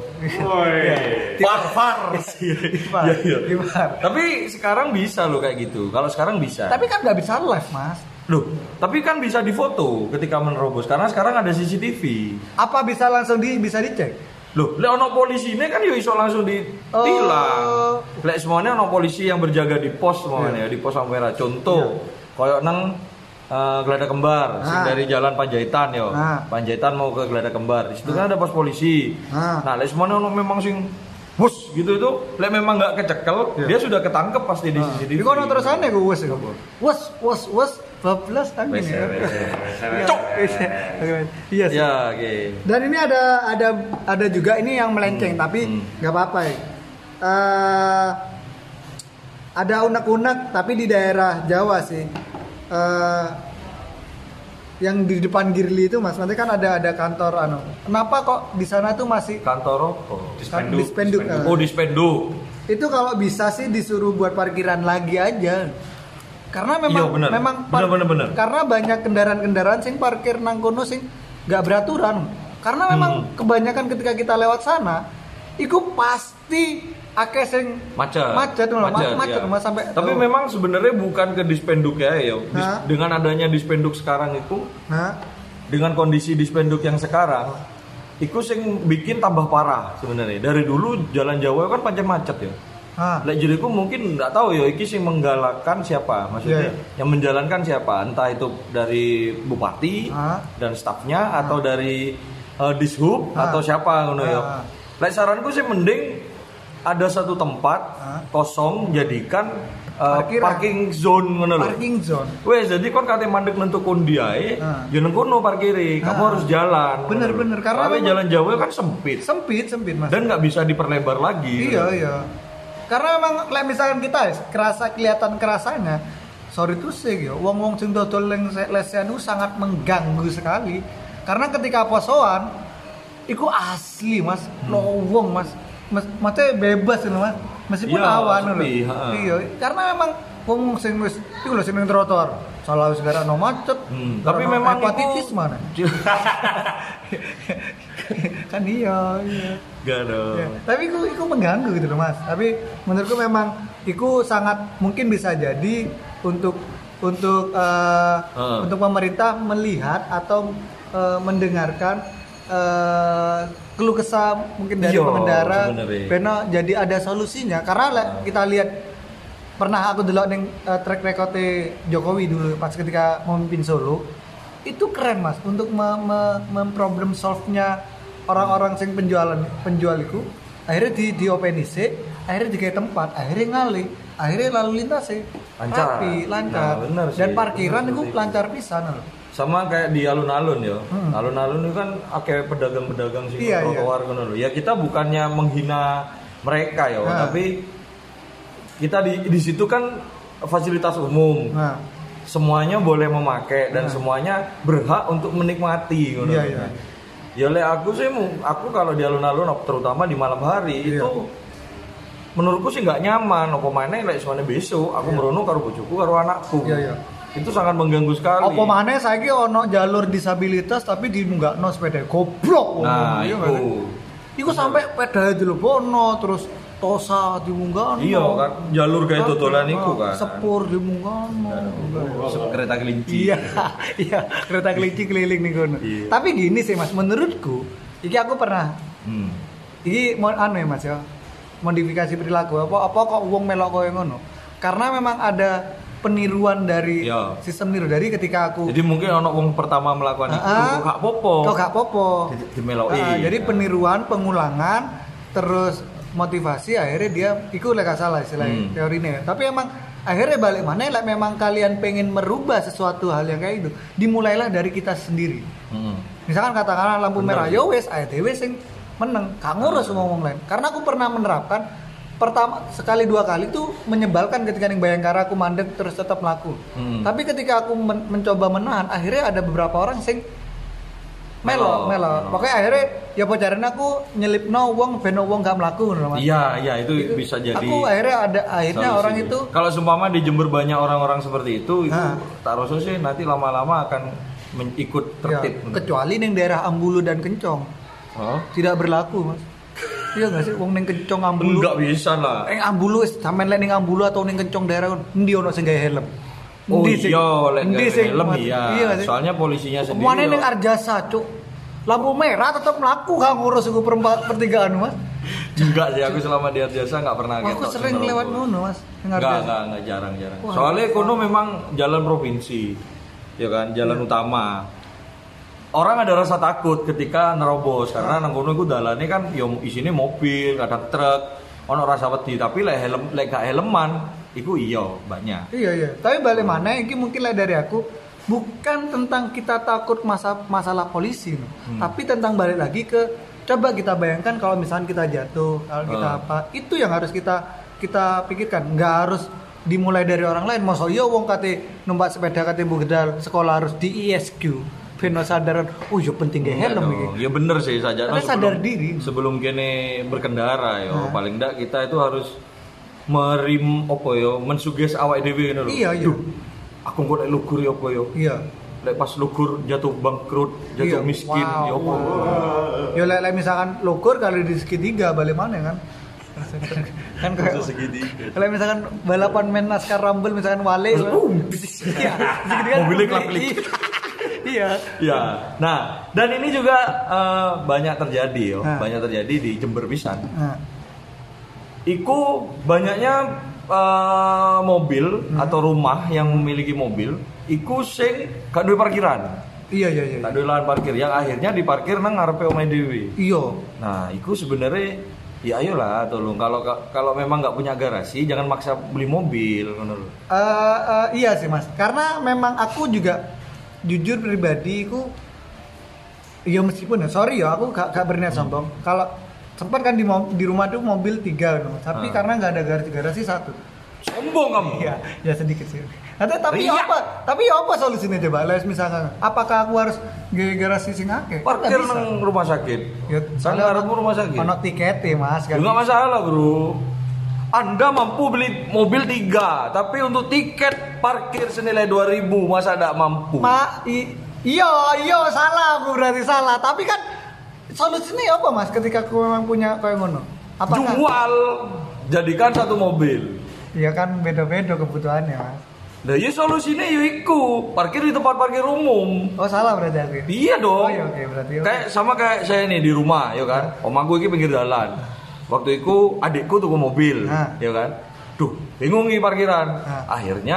Far far ya, ya. Tapi sekarang bisa loh kayak gitu kalau sekarang bisa tapi kan nggak bisa live mas loh tapi kan bisa difoto ketika menerobos karena sekarang ada C C T V apa bisa langsung di bisa dicek loh, lek ono polisi ini kan yo iso langsung ditilang. Oh. Lek semuanya ono polisi yang berjaga di pos semuanya yeah. Di pos kamera. Contoh, yeah. Koyok nang uh, Geladak Kembar, nah. Sing dari Jalan Panjaitan yo. Nah. Panjaitan mau ke Geladak Kembar. Di situ nah. Kan ada pos polisi. Nah, nah lek semuanya ono memang sing bus gitu itu, lek memang nggak kecekel, yeah. Dia sudah ketangkep pasti di nah. C C T V. Di kono terusannya gue wes itu. Wes, wes, wes. bablas angin ya. Cok. Iya sih. Ya, oke. Okay. Dan ini ada ada ada juga ini yang melenceng hmm. tapi nggak hmm. apa-apa ya. Uh, ada unek-unek tapi di daerah Jawa sih. Uh, yang di depan Girly itu Mas, nanti kan ada ada kantor anu. Kenapa kok di sana tuh masih kantor apa? Dispenduk. Dispenduk. Dispenduk. Oh, dispenduk. Itu kalau bisa sih disuruh buat parkiran lagi aja. Karena memang iya, bener. memang par- bener, bener, bener. Karena banyak kendaraan-kendaraan sing parkir nang kono sing enggak beraturan. Karena memang hmm. kebanyakan ketika kita lewat sana, itu pasti akeh sing macet. Macet loh, macet, macet ya. sampai. Tapi oh. memang sebenarnya bukan ke dispenduk ya, ya. Dis- dengan adanya dispenduk sekarang itu, nah? Dengan kondisi dispenduk yang sekarang, itu sing bikin tambah parah sebenarnya. Dari dulu jalan Jawa kan pancen macet ya. Lek jadiku mungkin nggak tahu ya, iki sing menggalakkan siapa, maksudnya yeah. yang menjalankan siapa, entah itu dari bupati ha? dan stafnya ha? atau dari uh, dishub ha? atau siapa ngono ya. Lek saranku sih mending ada satu tempat ha? kosong jadikan uh, parking zone ngono lho. Parking zone. Wes jadi kon kate mandek nentu kondi ae, ya nang kono parkiri, kamu harus jalan. Bener-bener karena jalan Jawa kan sempit. Sempit, sempit Mas. Dan nggak bisa diperlebar lagi. Iya, iya. Karena memang like misalkan kita kerasa kelihatan kerasanya sorry tuh sih ya wong-wong sing dodol lesian itu sangat mengganggu sekali karena ketika posoan iku asli mas hmm. lowong mas mas maksudnya bebas itu mas meskipun ya, awan loh iya karena memang wong sing wis iku lho sing ning trotoar salah wis gara no macet hmm. tapi memang hepatitis iku... mana kan iya iya gak dong ya. Tapi itu itu mengganggu gitu loh mas tapi menurutku memang itu sangat mungkin bisa jadi untuk untuk uh, uh. untuk pemerintah melihat atau uh, mendengarkan uh, keluh kesah mungkin dari Yo, pengendara karena jadi ada solusinya karena uh. kita lihat pernah aku delok ning uh, track record Jokowi dulu pas ketika memimpin Solo itu keren mas untuk memproblem me- solve-nya orang-orang sing penjualan penjual itu akhirnya di di open I C akhirnya di kayak tempat akhirnya ngalih akhirnya lalu lintas sih lancar rapi, lancar nah, dan parkiran itu lancar pisan loh sama kayak di alun-alun ya hmm. alun-alun itu kan kayak pedagang-pedagang sing iya, trotoar iya. Kan loh ya kita bukannya menghina mereka ya nah. Tapi kita di di situ kan fasilitas umum. Nah. Semuanya boleh memakai dan Nah. semuanya berhak untuk menikmati ngono. Iya, iya. Ya oleh aku sih aku kalau di alun-alun terutama di malam hari Iya. itu menurutku sih nggak nyaman. Apa maneh lek suane besok aku Iya. merono karo bojoku karo anakku. Iya, iya. Itu sangat mengganggu sekali. Apa maneh saiki ono jalur disabilitas tapi dimunggakno sepeda goblok. Nah, Iya itu. nggak sih? Iku sampai sepeda dilepono terus tosa dimunggakno. Iya kan jalur kayak dodolan iku kan. Sepur dimunggakno. Kereta kelinci. Iya, iya, kereta kelinci keliling nih kono. Iya. Tapi gini sih Mas, menurutku, iki aku pernah Hmm. iki mau anu ya Mas ya. Modifikasi perilaku apa apa kok wong melok koyo ngono. Karena memang ada peniruan dari Iya. sistem niru dari ketika aku Jadi mungkin ono wong pertama melakukan itu Ah, kok gak popo. kok gak popo. Di- dimeloki. Ah, jadi peniruan, pengulangan, terus motivasi akhirnya dia iku lek gak salah istilahnya Hmm. teorinya. Tapi emang akhirnya balik mana lek memang kalian pengen merubah sesuatu hal yang kayak itu, dimulailah dari kita sendiri. Hmm. Misalkan katakanlah lampu Bener, merah ya. yo wes ae dhewe sing meneng, gak ngurus ngomong lain. Karena aku pernah menerapkan pertama sekali dua kali tuh menyebalkan ketika ning Bayangkara aku mandek terus tetap melaku. Hmm. Tapi ketika aku men- mencoba menahan, akhirnya ada beberapa orang sing melo, Melo, melo. melo. Pokoknya akhirnya ya pacaran aku nyelipno wong ben wong gak melaku ngono Mas. Iya, iya itu, Itu bisa jadi. Aku akhirnya ada akhirnya solusi. orang itu Kalau seumpama di Jember banyak orang-orang seperti itu, itu Hah. tak rasa sih nanti lama-lama akan men- ikut ya, tertib. kecuali ning daerah Ambulu dan Kencong Oh? tidak berlaku Mas. Iya gak sih wong ning Kencong Ambulu. Enggak bisa lah. Eh Ambulu wis sampean lek ning Ambulu atau ning Kencong daerah endi ono sing gawe helm. Oh Endi sing- iya, lek endi nggak sing helm mati. iya. nggak sih? Soalnya polisinya sendiri. Mana yo- ning Arjasa, Cuk. Lampu merah tetap melaku gak ngurus iku perempat pertigaan Mas. Enggak sih, aku selama di Arjasa enggak pernah Wah, aku ketok sering sing lewat ngerokok. ngono Mas. Ning Enggak, Arjasa. enggak, enggak jarang-jarang. Wah, Soalnya kono memang jalan provinsi. Ya kan, jalan Iya. utama. Orang ada rasa takut ketika nerobos karena nang kono iku dalane kan ya isine mobil, kadang truk, ono rasa wedi, tapi lek helm lek gak helman iku iya banyak. Iya iya. Tapi balik mana iki mungkin lah dari aku bukan tentang kita takut masa masalah polisi, no. Hmm. Tapi tentang balik lagi ke coba kita bayangkan kalau misalnya kita jatuh, kalau kita Hmm. apa, itu yang harus kita kita pikirkan. Nggak harus dimulai dari orang lain. Masa iya wong kate numpak sepeda kate budal sekolah harus di I S Q. Beno sadaran, oh yo penting gak helm Iya iki. dong. Ya bener sih saja. Karena sadar diri. Sebelum kene berkendara yo, Nah. paling enggak kita itu harus merim opo yo, mensuges awake dhewe ngono lho. Iya, iya. Duh, aku kok lek lugur yo opo yo. Iya. Lek pas lugur jatuh bangkrut, jatuh Iya. miskin Wow. yo opo. Yo lek lek misalkan lokur kali di segitiga balik mana kan? kan kayak segitiga. kalau misalkan balapan main NASCAR Rumble misalkan wale Uh, iya segitiga mobilnya kelap-kelip. iya Ya, nah dan ini juga eh, banyak terjadi yo, Nah. banyak terjadi di Jember pisan. nah, Iku banyaknya eh, mobil Hmm. atau rumah yang memiliki mobil, iku sing gak duwe parkiran, iya iya iya gak duwe lahan parkir, yang akhirnya diparkir nang ngarepe omahe dhewe. iya Nah, iku sebenarnya ya ayolah tolong kalau kalau memang nggak punya garasi jangan maksa beli mobil ngono lho. Eh, eh, iya sih mas karena memang aku juga jujur pribadi aku ya meskipun ya sorry ya aku gak, gak berniat sombong kalau sempat kan di, mo- di rumah tuh mobil tiga no. Tapi Ah. karena nggak ada garasi garasi satu Sombong kamu. iya ya sedikit sih Nanti, tapi Riak. apa tapi apa solusinya coba les misalkan apakah aku harus nge garasi sing akeh Parkir Nggak bisa. nang rumah sakit. Ya, Kan soalnya ngarepmu rumah sakit. ono tiketnya mas kan Enggak masalah, Bro. Anda mampu beli mobil tiga, tapi untuk tiket parkir senilai dua ribu masa tidak mampu? Ma, i- iya, iya salah aku berarti salah. Tapi kan solusinya apa mas? Ketika aku memang punya kayak ngono, apakah? Jual, jadikan satu mobil. Ya kan beda-beda kebutuhannya mas. Nah, ya solusinya ya iku, parkir di tempat parkir umum. Oh salah berarti aku. ya? Iya dong. Oh, iya, oke, berarti oke. Kayak sama kayak saya nih di rumah, ya kan. Om aku ini pinggir jalan. Waktu itu adikku tuku mobil, Nah. ya kan. Duh, bingung nih parkiran. Nah. Akhirnya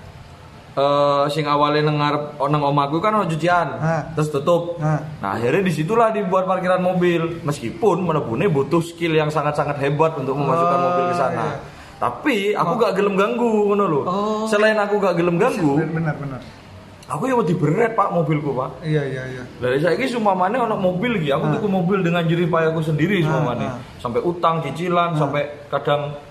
eh sing awalnya nang ngarep nang omaku kan ono cucian, Nah. terus tutup. Nah. Nah, akhirnya disitulah dibuat parkiran mobil. Meskipun menebune butuh skill yang sangat-sangat hebat untuk memasukkan Oh, mobil ke sana. iya. Tapi aku gak gelem ganggu ngono lho. Oh. Selain aku gak gelem ganggu, Benar benar. aku ya wedi beret Pak mobilku, Pak. Iya iya iya. Dari saya ini sumamane ono mobil gitu, aku tuku mobil dengan jerih payahku sendiri Ah, sumamane. ah. Sampai utang, cicilan, sampai kadang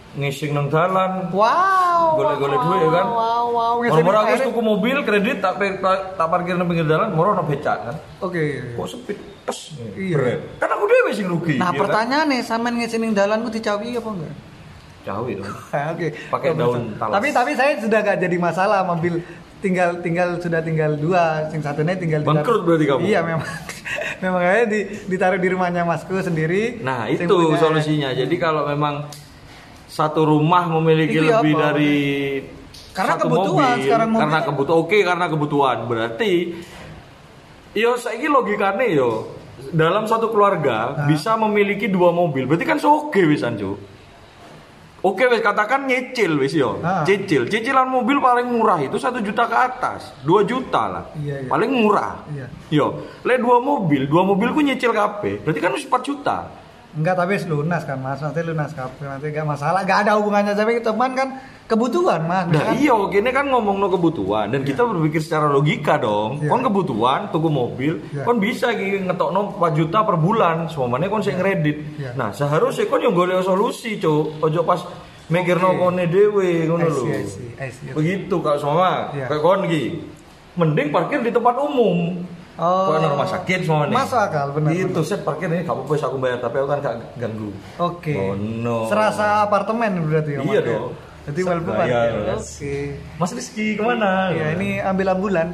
ngising nang dalan. Wow. Golek-golek duit ya kan. Wow, wow. Moro-moro aku wis tuku mobil kredit tak tak, tak parkir nang pinggir dalan, moro ono becak kan. Oke. Kok sepit tes. Iya. Kan aku dhewe sing rugi. Nah, ya pertanyaannya sampean ngising ning dalan ku dicawi apa enggak? Cawi dong. Oke. Pakai daun talas. Tapi tapi saya sudah gak jadi masalah mobil tinggal tinggal sudah tinggal dua, yang satunya tinggal bangkrut berarti kamu. Iya memang. Memang kayaknya di, ditaruh di rumahnya masku sendiri. Nah, itu solusinya. Jadi kalau memang satu rumah memiliki itu lebih apa? dari karena satu kebutuhan mobil, sekarang mobil karena kan? kebutuhan oke okay, karena kebutuhan berarti yo saiki logikane yo dalam satu keluarga Hah? bisa memiliki dua mobil berarti kan so oke wisan Cuk. Oke wes katakan nyicil wes yo Hah? cicil cicilan mobil paling murah itu satu juta ke atas dua juta lah iya, iya. paling murah iya. Yo le dua mobil dua mobilku nyicil kabeh berarti kan empat juta. Enggak, tapi lunas kan mas, nanti lunas kabeh, nanti gak masalah, gak ada hubungannya tapi teman kan kebutuhan mas. Nah kan? iya, gini kan ngomong no kebutuhan dan yeah. kita berpikir secara logika dong. Yeah. Kon kebutuhan, tuku mobil, yeah. kon bisa gitu ngetok no empat juta per bulan, semuanya kon sing kredit. Yeah. Nah seharusnya kon yang golek solusi cok, ojo pas mikir no kone dewe, ngono lho. Begitu kalau semua, yeah. kayak kon gitu, mending parkir di tempat umum. Oh, kok rumah sakit semua nih. Masuk akal, benar. Itu set parkir ini gak apa-apa aku bayar tapi aku kan gak ganggu. Oke. Okay. Oh, no. Serasa apartemen berarti ya. Iya dong. Jadi well parkir. Oke. Okay. Mas Rizky kemana? Ya ini ambil ambulan.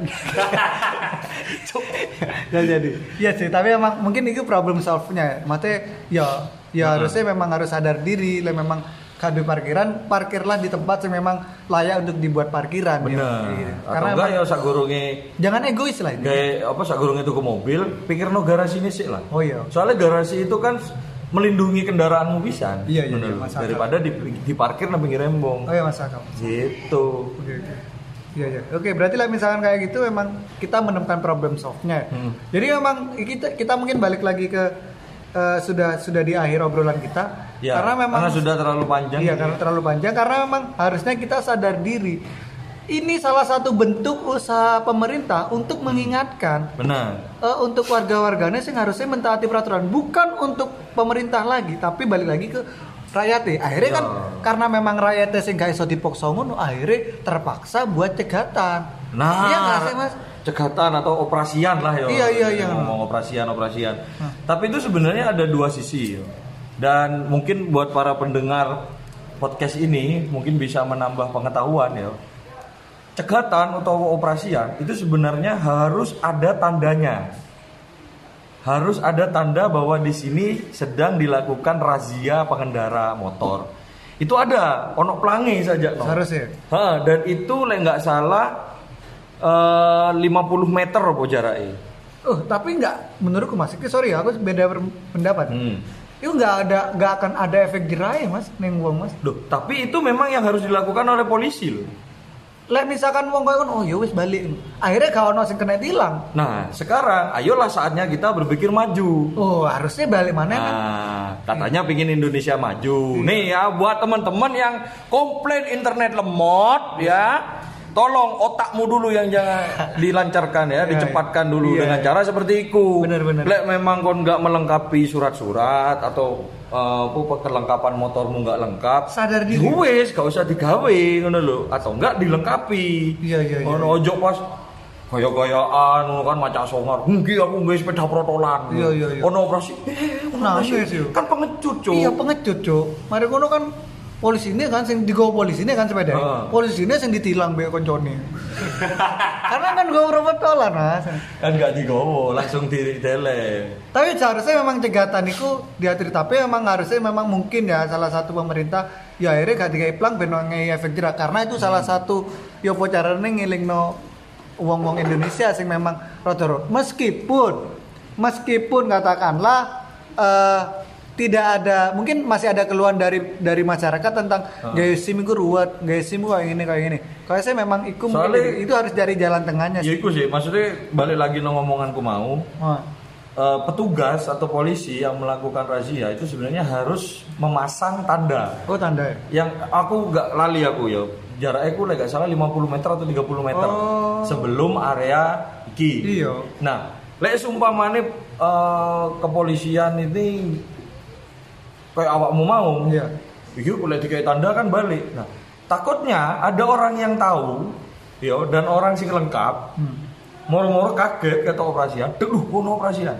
Gak jadi. Iya sih, tapi emang mungkin itu problem solve-nya. Maksudnya ya ya hmm. harusnya memang harus sadar diri, lah memang kado parkiran, parkirlah di tempat yang memang layak untuk dibuat parkiran. Bener. Ya. Karena enggak ya sak goronge. Jangan egois lah ini. Kayak apa sak goronge tuku mobil, pikir no garasinya sih lah. Oh iya. Soalnya garasi itu kan melindungi kendaraanmu pisan. Iya iya, iya daripada di, diparkir nang pinggir embong. Oh iya Mas Akam. Gitu. Oke oke. Iya iya. Oke, berarti lah misalkan kayak gitu memang kita menemukan problem solve-nya. Hmm. Jadi memang kita kita mungkin balik lagi ke Uh, sudah sudah di akhir obrolan kita ya, karena memang karena sudah terlalu panjang. Iya, karena terlalu panjang karena memang harusnya kita sadar diri. Ini salah satu bentuk usaha pemerintah untuk mengingatkan. Benar. Uh, untuk warga-warganya sih harusnya mentaati peraturan, bukan untuk pemerintah lagi, tapi balik lagi ke rakyatnya. Akhirnya ya. kan karena memang rakyatnya sing gak iso dipaksa ngono, akhirnya terpaksa buat cegatan. Nah, iya nggak sih Mas? Cegatan atau operasian lah ya. Iya iya iya. Ngomong operasian operasian. Hmm. Tapi itu sebenarnya ada dua sisi. Yo. Dan mungkin buat para pendengar podcast ini mungkin bisa menambah pengetahuan ya. Cegatan atau operasian itu sebenarnya harus ada tandanya. Harus ada tanda bahwa di sini sedang dilakukan razia pengendara motor. Itu ada, ono pelangi saja. No. Harusnya. Ha, dan itu lek nggak salah Uh, lima puluh meter apa jaraknya. Oh, tapi enggak menurutku Mas. Sorry, aku beda pendapat. Hmm. Itu enggak ada enggak akan ada efek jerah ya, Mas, ning wong Mas. Loh, tapi itu memang yang harus dilakukan oleh polisi loh. Lek misalkan wong koyo oh ya wis balik. Akhirnya gak ono sing kena tilang. Nah, sekarang ayolah saatnya kita berpikir maju. Oh, harusnya balik mana nah, kan? Katanya pingin Indonesia maju. Hmm. Nih ya buat teman-teman yang komplain internet lemot ya. Tolong otakmu dulu yang jangan dilancarkan ya, dicepatkan dulu iya, dengan cara seperti itu. Benar-benar. Lek memang kon nggak melengkapi surat-surat atau uh, kelengkapan motormu nggak lengkap, sadar diri. Wes, gak usah digawe ngono lho, atau enggak dilengkapi. Iya iya iya. Ono ojo pas gaya-gayaan ngono kan macak songar. Nggih aku nggawe sepeda protolan. Iya iya iya. Ono operasi. Eh, nah, iya sih. Kan pengecut, Cuk. Iya, pengecut, Cuk. Mari ngono kan polisi ini kan sing digawa polisi ini kan sepeda. Uh. Polisi ini sing ditilang be koncone. Karena kan gawa protolan, Mas. Kan gak digawa, langsung ditele. Tapi seharusnya memang cegatan itu diatur, tapi memang harusnya memang mungkin ya salah satu pemerintah ya akhirnya gak digawe plang ben ngei efek jerah karena itu salah satu yo apa carane ngelingno wong-wong Indonesia sing memang rada meskipun meskipun katakanlah uh, tidak ada, mungkin masih ada keluhan dari dari masyarakat tentang uh. gaya SIM itu ruwet, gaya SIM kayak gini kayak gini. Kalau saya memang itu mungkin itu harus dari jalan tengahnya sih. Ya itu sih, maksudnya balik lagi no ngomonganku mau. Uh. Uh, petugas atau polisi yang melakukan razia itu sebenarnya harus memasang tanda. Oh, tanda ya? Yang aku gak lali aku ya. Jaraknya aku gak salah lima puluh meter atau tiga puluh meter oh. sebelum area iki. Iya. Nah, lek sumpamane uh, kepolisian ini kayak awakmu mau, iya. Iya, boleh dikai tanda kan balik. Nah, takutnya ada orang yang tahu, yo dan orang sing lengkap, hmm. moro-moro kaget kata operasian, duh, kono operasian.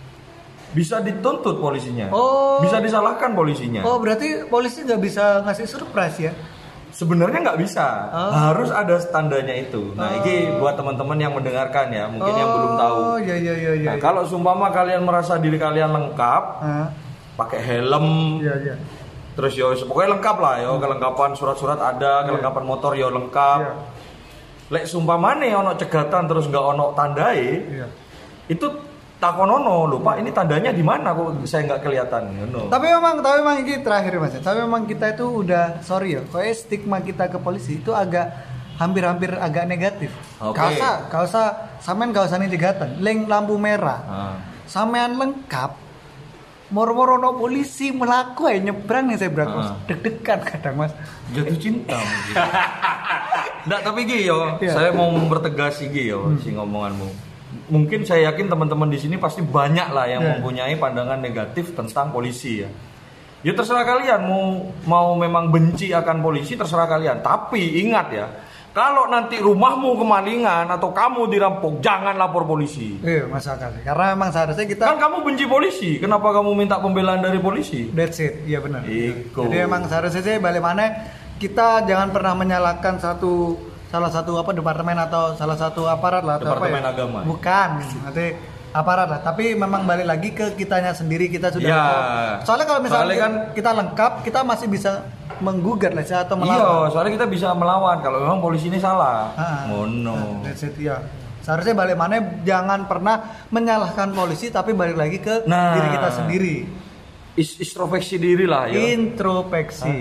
Bisa dituntut polisinya, oh. bisa disalahkan polisinya. Oh, berarti polisi nggak bisa ngasih surprise ya? Sebenarnya nggak bisa, oh. harus ada tandanya itu. Nah, oh. ini buat teman-teman yang mendengarkan ya, mungkin oh, yang belum tahu. Iya, iya, iya, iya. Nah, kalau sumpama kalian merasa diri kalian lengkap, huh? pakai helm, iya, iya. terus yo pokoknya lengkap lah, yo kelengkapan surat-surat ada, yeah. kelengkapan motor yo lengkap. Yeah. Lek sumpama nih ono cegatan terus nggak ono tandai, yeah. itu takonono lho Pak, ini tandanya di mana kok saya nggak kelihatan no. Tapi memang tapi memang ini terakhir Mas. Tapi memang kita itu udah sorry ya, kayak stigma kita ke polisi itu agak hampir-hampir agak negatif. Okay. Kau usah, kau usah sampean kau usah cegatan. Leng lampu merah. Ah. Sampean lengkap. Moro-moro no polisi melaku ya nyebrang nih saya berangkat. Ah. Deg-degan kadang Mas. Jatuh cinta mungkin. Nggak, tapi Gi yo, yeah. saya mau mempertegas Gi yo hmm. si ngomonganmu. Mungkin saya yakin teman-teman di sini pasti banyak lah yang yeah. mempunyai pandangan negatif tentang polisi ya. Ya terserah kalian mau mau memang benci akan polisi, terserah kalian. Tapi ingat ya, kalau nanti rumahmu kemalingan atau kamu dirampok, jangan lapor polisi. Iya, masuk akal. Karena memang seharusnya kita kan kamu benci polisi, kenapa kamu minta pembelaan dari polisi? That's it, iya benar. Iko. Jadi memang seharusnya sih balik mana kita jangan pernah menyalahkan satu salah satu apa departemen atau salah satu aparat lah atau departemen apa ya? Agama. Bukan, nanti aparat lah. Tapi memang balik lagi ke kitanya sendiri, kita sudah ya. Soalnya kalau misalnya soalnya kan kita lengkap, kita masih bisa menggugat lah atau melawan. Iya, soalnya kita bisa melawan kalau memang polisi ini salah. Oh no. That's it ya. Seharusnya balik mana jangan pernah menyalahkan polisi tapi balik lagi ke nah, diri kita sendiri. Is- introspeksi diri lah ya. Introspeksi.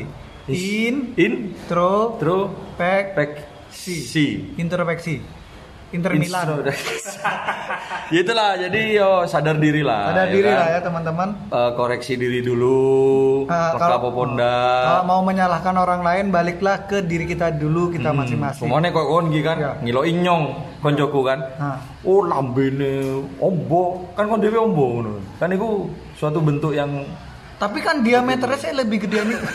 In intro intro pek pek si introspeksi Inter Milan. Ya itulah, jadi yo sadar diri lah. Sadar ya diri kan? Lah ya teman-teman. Uh, koreksi diri dulu. Uh, kalau kalau mau menyalahkan orang lain, baliklah ke diri kita dulu, kita hmm, masing-masing. Semuanya kok kon kan, ya. Ngilo inyong koncoku kan. Uh. Oh lambene ombo, kan kon dhewe ombo ngono. Kan itu suatu bentuk yang. Tapi kan diameternya saya lebih gede nih.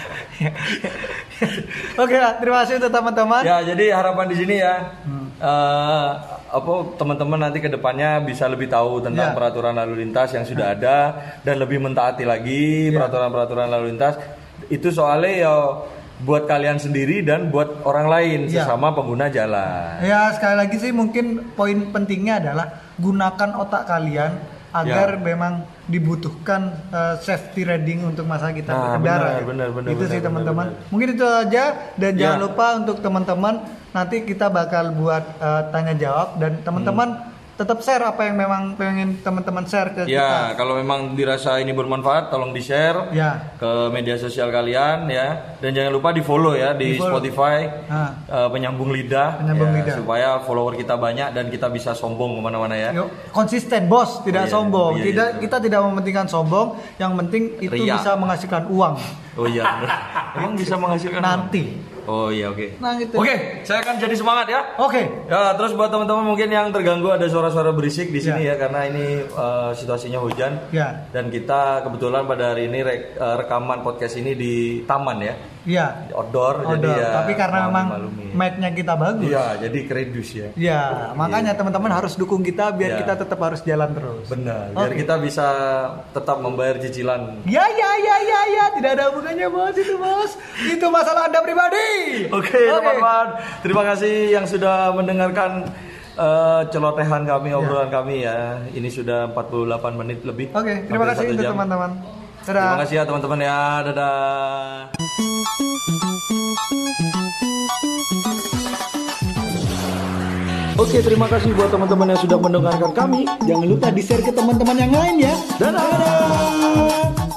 Oke lah, terima kasih untuk teman-teman. Ya, jadi harapan di sini ya, hmm. uh, apa teman-teman nanti kedepannya bisa lebih tahu tentang ya. peraturan lalu lintas yang sudah ada dan lebih mentaati lagi ya. peraturan-peraturan lalu lintas. Itu soalnya ya buat kalian sendiri dan buat orang lain ya. sesama pengguna jalan. Ya sekali lagi sih mungkin poin pentingnya adalah gunakan otak kalian agar ya. memang dibutuhkan uh, safety riding untuk masa kita nah, berkendara. Benar, benar, benar, itu benar, sih teman-teman. Benar, benar. Mungkin itu aja dan ya. jangan lupa untuk teman-teman nanti kita bakal buat uh, tanya jawab dan teman-teman hmm. tetap share apa yang memang pengen teman-teman share ke ya, kita. Ya, kalau memang dirasa ini bermanfaat tolong di-share ya. ke media sosial kalian ya. Dan jangan lupa di-follow ya di, di Spotify uh, Penyambung Lidah, Penyambung ya, Lidah supaya follower kita banyak dan kita bisa sombong kemana-mana ya. Yo, konsisten bos, tidak oh, iya. sombong. Oh, iya, tidak iya. Kita tidak mementingkan sombong, yang penting itu Ria. bisa menghasilkan uang. Oh iya. Emang bisa menghasilkan nanti. Uang? Oh iya oke. Okay. Nah, gitu. Oke, okay, saya akan jadi semangat ya. Oke. Okay. Ya, terus buat teman-teman mungkin yang terganggu ada suara-suara berisik di sini ya, ya karena ini uh, situasinya hujan. Ya. Dan kita kebetulan pada hari ini re- uh, rekaman podcast ini di taman ya. Iya. Outdoor, outdoor. Jadi ya. Tapi karena memang mic-nya kita bagus. Iya, jadi kredus ya. Iya, makanya yeah. teman-teman harus dukung kita biar yeah. kita tetap harus jalan terus. Benar. Biar okay. kita bisa tetap membayar cicilan. Ya ya ya ya ya, tidak ada hubungannya bos itu bos. Itu masalah Anda pribadi. Oke, okay, okay. teman-teman. Terima kasih yang sudah mendengarkan uh, celotehan kami, obrolan yeah. kami ya. Ini sudah empat puluh delapan menit lebih. Oke, okay, terima kasih untuk teman-teman. Dadah. Terima kasih ya teman-teman ya. Dadah. Oke, terima kasih buat teman-teman yang sudah mendengarkan kami. Jangan lupa di-share ke teman-teman yang lain ya. Dadah. Dadah.